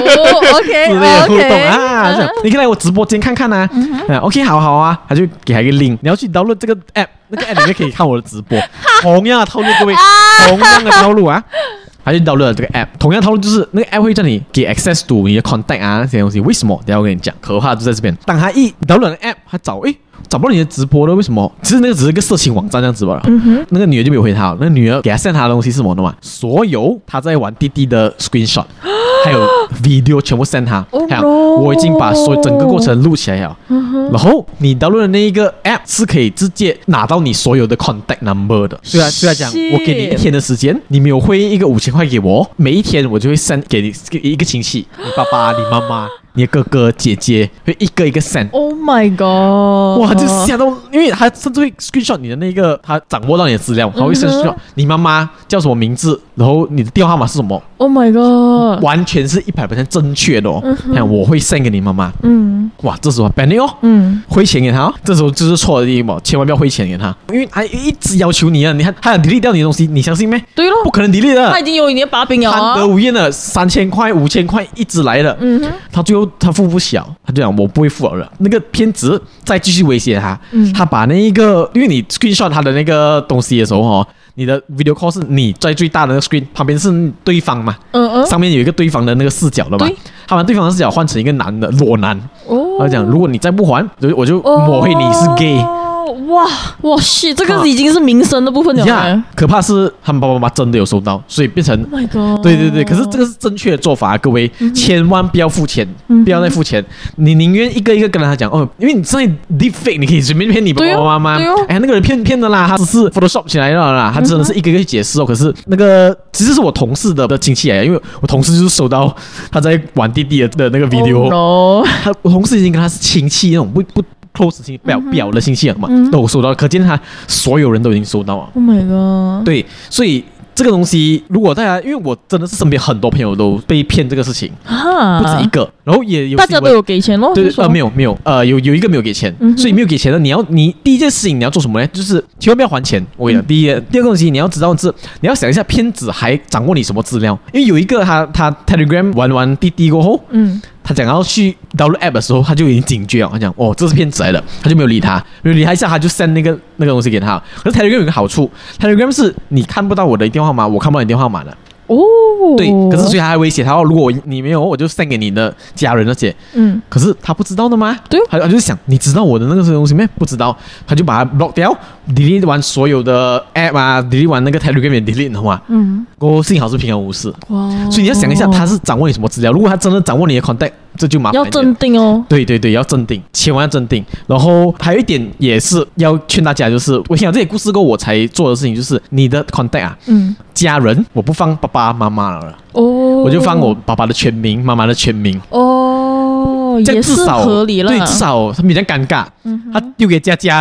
OK 之類的互動啊，這樣你可以來我直播間看看啊。嗯、OK， 好好啊，他就給他一個 link，你要去 download 這個 app， 那個 app 裡面可以看我的直播。同樣的套路，各位，同樣的套路啊，他就 download 了這個 app， 同樣的套路就是那個 app 會叫你給 access to 你的 contact 啊那些東西。為什麼？等一下我跟你講，可怕就在這邊。當他一 download 了 app， 他找誒。找不到你的直播了，為什麼？其實那個只是一個色情網站這樣子吧。嗯哼，那個女的就沒有回他，那個女的給他 send 他的東西是什麼的嘛？所有他在玩弟弟的 screenshot， 還有 video 全部 send 他。哦、no，我已經把所有整個過程錄起來了。嗯哼，然後你 download 的那一個 app 是可以直接拿到你所有的 contact number 的。雖然雖然講，我給你一天的時間，你沒有匯一個五千塊給我，每一天我就會 send 給你一個親戚，你爸爸、你媽媽。你的哥哥姐姐會一個一個 send。Oh my god！ 哇，就嚇到，因為他甚至會 screenshot 你的那個，他掌握到你的資料，他會 screenshot 你媽媽叫什麼名字，然後你的電話號碼是什麼。 Oh my god！ 完全是一百 percent 正確的哦。看、嗯，我會 send 給你媽媽。嗯。哇，這時候 ban 哦。嗯。匯錢給他哦，這時候就是錯的地方，千萬不要匯錢給他，因為他一直要求你啊，你看他想 delete 掉你的東西，你相信沒？對咯，不可能 delete 的。 他已經有你的把柄了啊。 貪得無厭的三千塊、五千塊一直來的。嗯哼。他最後他付不小，他就講我不會付了。那個騙子再繼續威脅他，嗯、他把那一個，因為你 screenshot 他的那個東西的時候哦，你的 video call 是你在最大的那個 screen 旁邊是對方嘛，嗯嗯，上面有一個對方的那個視角的嘛，對，他把對方的視角換成一個男的裸男，哦，他講如果你再不還，我就抹黑你是 gay。哦哇哇shit，這個已經是民生的部分了。 呀，可怕是他們爸爸媽媽真的有收到，所以變成 ，Oh my god， 對對對，可是這個是正確的做法，各位、嗯、千萬不要付錢，嗯、不要再付錢，你寧願一個一個跟他講哦，因為你在 deepfake， 你可以隨便騙你爸爸媽媽，哎、哦，那個人騙騙的啦，他只是 Photoshop 起來的啦，他真的是一個一個解釋哦。可是那個其實是我同事的的親戚來的，因為我同事就是收到他在玩弟弟的的那個 video，、oh no、他我同事已經跟他是親戚那種不不。close 親表表的信息了嘛，嗯、都收到了，可見他所有人都已經收到了。 Oh my god！ 對，所以這個東西，如果大家，因為我真的是身邊很多朋友都被騙這個事情，啊、不止一個，然後也有大家都有給錢咯。 對，呃，沒有沒有，呃，有有一個沒有給錢，嗯、所以沒有給錢的，你要你第一件事情你要做什麼呢？就是千萬不要還錢。我跟你講，第一第二個東西你要知道是，你要想一下騙子還掌握你什麼資料，因為有一個他他 Telegram 玩完滴滴過後，嗯。他講要去 download app 的時候，他就已經警覺了。他講哦，這是騙子來的，他就沒有理他，沒有理他一下，他就 send 那個那個東西給他。可是 Telegram 有一個好處 ，Telegram 是你看不到我的電話號碼，我看不到你電話號碼的。哦，對，可是所以他還威脅他，如果你沒有，我就 send 給你的家人那些。嗯，可是他不知道的嗎？對，他他就想，你知道我的那個東西沒？不知道，他就把它 block 掉 ，delete 完所有的 app 啊 ，delete 完那個 Telegram 也 delete 的話，嗯，我幸好是平安無事。哇，所以你要想一下，他是掌握你什麼資料？如果他真的掌握你的 contact，這就麻煩。要鎮定哦。 對對對，要鎮定，千萬要鎮定。然後還有一點也是要勸大家，就是我想這些故事過後我才做的事情，就是你的 contact 啊，嗯，家人我不放爸爸媽媽了，哦，我就放我爸爸的全名，媽媽的全名。哦，這樣至少也是合理了。對，至少他比較尷尬，嗯、他丟給佳佳。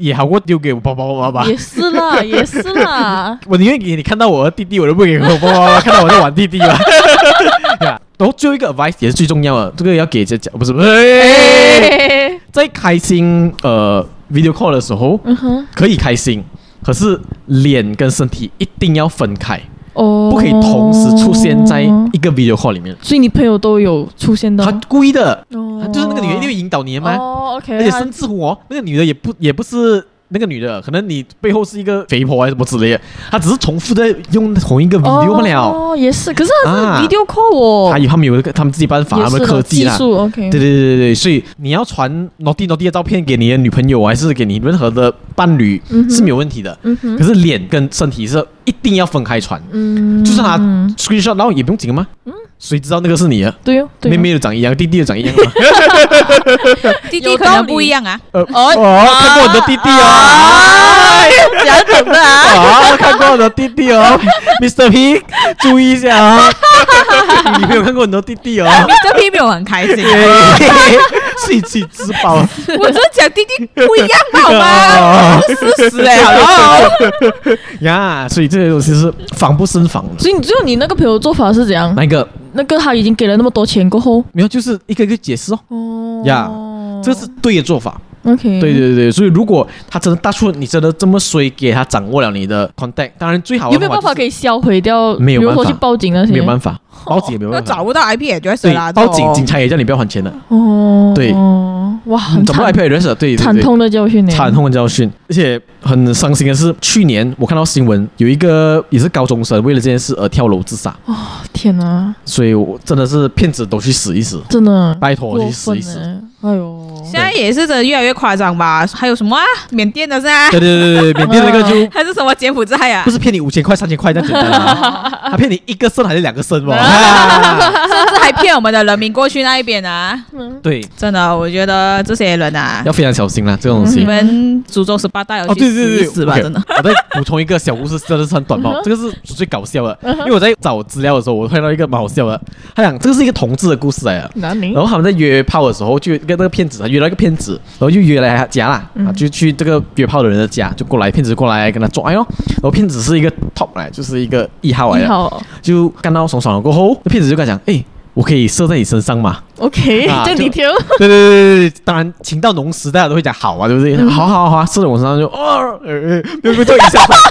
也好過丟給我爸爸媽媽吧。 也是啦，也是啦。 我寧願給你看到我的弟弟，我都不給我爸爸媽媽看到我在玩弟弟吧。然後最後一個 advice 也是最重要的，這個要給這講，不是不是，欸、在開心呃 video call 的時候，嗯哼，可以開心，可是臉跟身體一定要分開。哦，不可以同時出現在一個 video call 裡面。 所以你朋友都有出現到？ 他故意的，哦、就是那個女的一定會引導你的嘛。 哦 ，OK。 而且甚至乎哦，那個女的也不也不是那個女的，可能你背後是一個肥婆還是什麼之類的，她只是重複在用同一個 video 不了。 哦，也是，可是他是 video call 哦。 他有他們有一個他們自己辦法，他們科技啦。 技術 OK。 對對對對對，所以你要傳 naughty naughty 的照片給你的女朋友，還是給你任何的伴侶、嗯、是沒有問題的。嗯哼。可是臉跟身體是一定要分開傳。嗯。就算他 screenshot， 然後也不用緊嗎？嗯。誰知道那個是你啊？對哦，妹妹都長一樣，弟弟都長一樣嘛。 弟弟可能不一樣啊。 呃哦，看過我的弟弟哦。 講什麼啊？ 啊，看過我的弟弟哦 ，Mister P， 注意一下啊。你沒有看過很多弟弟哦。 Mister P 沒有很開心， 自己自己自爆。 我只是講弟弟不一樣好嗎？事實哎，好呀，所以這些東西是防不勝防的。 所以你最後你那個朋友做法是怎樣？ 哪一個？ 那個他已經給了那麼多錢過後， 沒有，就是一個一個解釋哦。哦呀，這是對的做法。 OK， 對對對，所以如果他真的大出你真的這麼衰，給他掌握了你的 contact， 當然最好的、就是、 有沒有辦法可以銷毀掉？ 沒有辦法， 比如說去報警那些， 沒有辦法，報警也沒有辦法， 找不到 I P address 對啦， 報警警察也叫你不要還錢的。 哦， 對， 哇， 找不到 I P address， 對， 慘痛的教訓呢， 慘痛的教訓。而且很傷心的是，去年我看到新聞，有一個也是高中生為了這件事而跳樓自殺。 哦，天哪！ 所以我真的是騙子都去死一死， 真的， 拜託去死一死。 哎呦， 現在也是真的越來越誇張吧？還有什麼啊？緬甸的是啊？ 對對對對，緬甸那個就還是什麼柬埔寨啊？ 不是騙你五千塊、三千塊這樣簡單啊？他騙你一個腎還是兩個腎吧？ 甚至還騙我們的人民過去那一邊啊？ 對， 真的，我覺得這些人啊， 要非常小心啦，這種東西。 你們祖宗十八代要去死一死吧？真的。 我再補充一個小故事，真的是很短爆，這個是最搞笑的，因為我在找資料的時候，我看到一個蠻好笑的。他講這個是一個同志的故事來的，然後他們在約炮的時候，就跟那個騙子，他約了一個騙子，然後就約來他家啦，啊，就去這個約炮的人的家，就過來，騙子過來跟他做愛哦，然後騙子是一個 top 來，就是一個一號來的，就幹到爽爽了過後，那騙子就跟他講，哎，我可以射在你身上嗎 ？OK，就你挑。 對對對對，當然情到濃時，大家都會講好啊，對不對？好好好，射在我身上就哦，呃，沒有沒有做一下吧。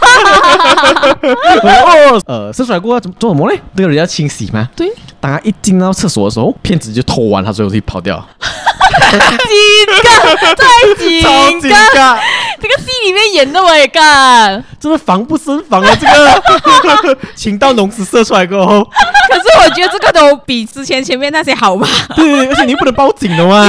哦，呃，射出來過後做做什麼嘞？這個人要清洗嗎？對。當他一進到廁所的時候，騙子就偷完他所有東西跑掉。 幾個？再幾個？ 超幾個？ 這個戲裡面演的我也幹， 真的防不勝防啊！這個情到濃時射出來過後， 可是我覺得這個都比之前前面那些好吧？ 對，而且你不能報警的嘛。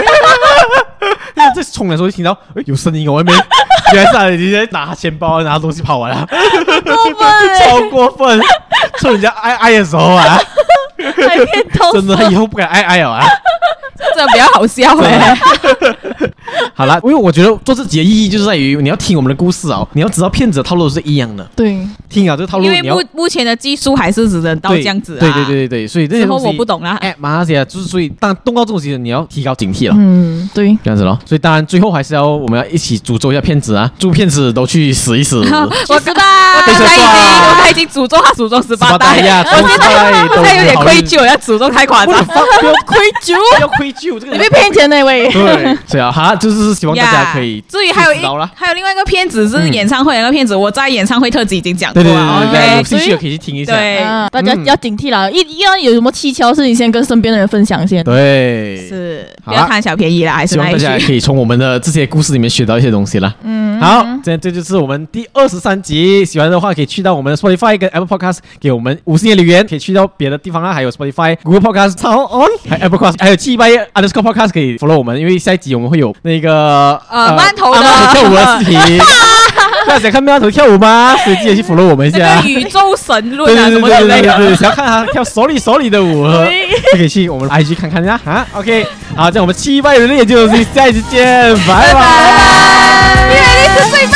在衝的時候就聽到，哎，有聲音，我外面原來是他已經在拿錢包、拿東西跑完了， 過分， 超過分！趁人家愛愛的時候啊， 還騙偷， 真的，他以後不敢愛愛了啊！ 這比較好笑哎。 好了，因為我覺得做這集的意義就是在於你要聽我們的故事哦，你要知道騙子的套路是一樣的。 對， 聽啊，這個套路， 因為目目前的技術還是只能到這樣子啊。 對對對對對，所以這些東西我不懂啦。 哎，馬來西亞就是所以，當動到這種事，你要提高警惕了。 嗯，對， 這樣子咯。所以當然最後還是要我們要一起詛咒一下騙子啊，祝騙子都去死一死。 我知道，我剛才已經我剛才已經詛咒他祖宗十八代呀， 十八代都现在有點愧疚，要詛咒太誇張。 不要愧疚，要愧疚，這個你被騙錢那位。 對，所以啊，好，就是希望大家可以。 至於還有一還有另外一個騙子是演唱會那個騙子，我在演唱會特輯已經講過了。 對，有興趣的可以去聽一下。 對， 大家要警惕啦，一一樣有什麼蹊蹺事，你先跟身邊的人分享先。 對， 是不要貪小便宜啦，還是希望大家可以從我們的這些故事裡面學到一些東西啦。嗯，好，這這就是我們第二十三集。喜歡的話可以去到我們的 Spotify 跟 Apple Podcast 給我們五星的留言，可以去到別的地方啦，還有 Spotify、Google Podcast、SoundOn、還有 Apple Podcast，還有七百 underscore Podcast 可以 follow 我們，因為下一集我們會有那個呃饅頭的跳舞的視頻。大家想看饅頭跳舞嗎？所以記得去 follow 我們一下。 那個宇宙神論啊什麼之類的。 對，想要看他跳手裡手裡的舞，就可以去我們 I G 看看呀。啊 ，OK， 好，這樣我們七百人的研究，下一次見，拜拜。因為你是最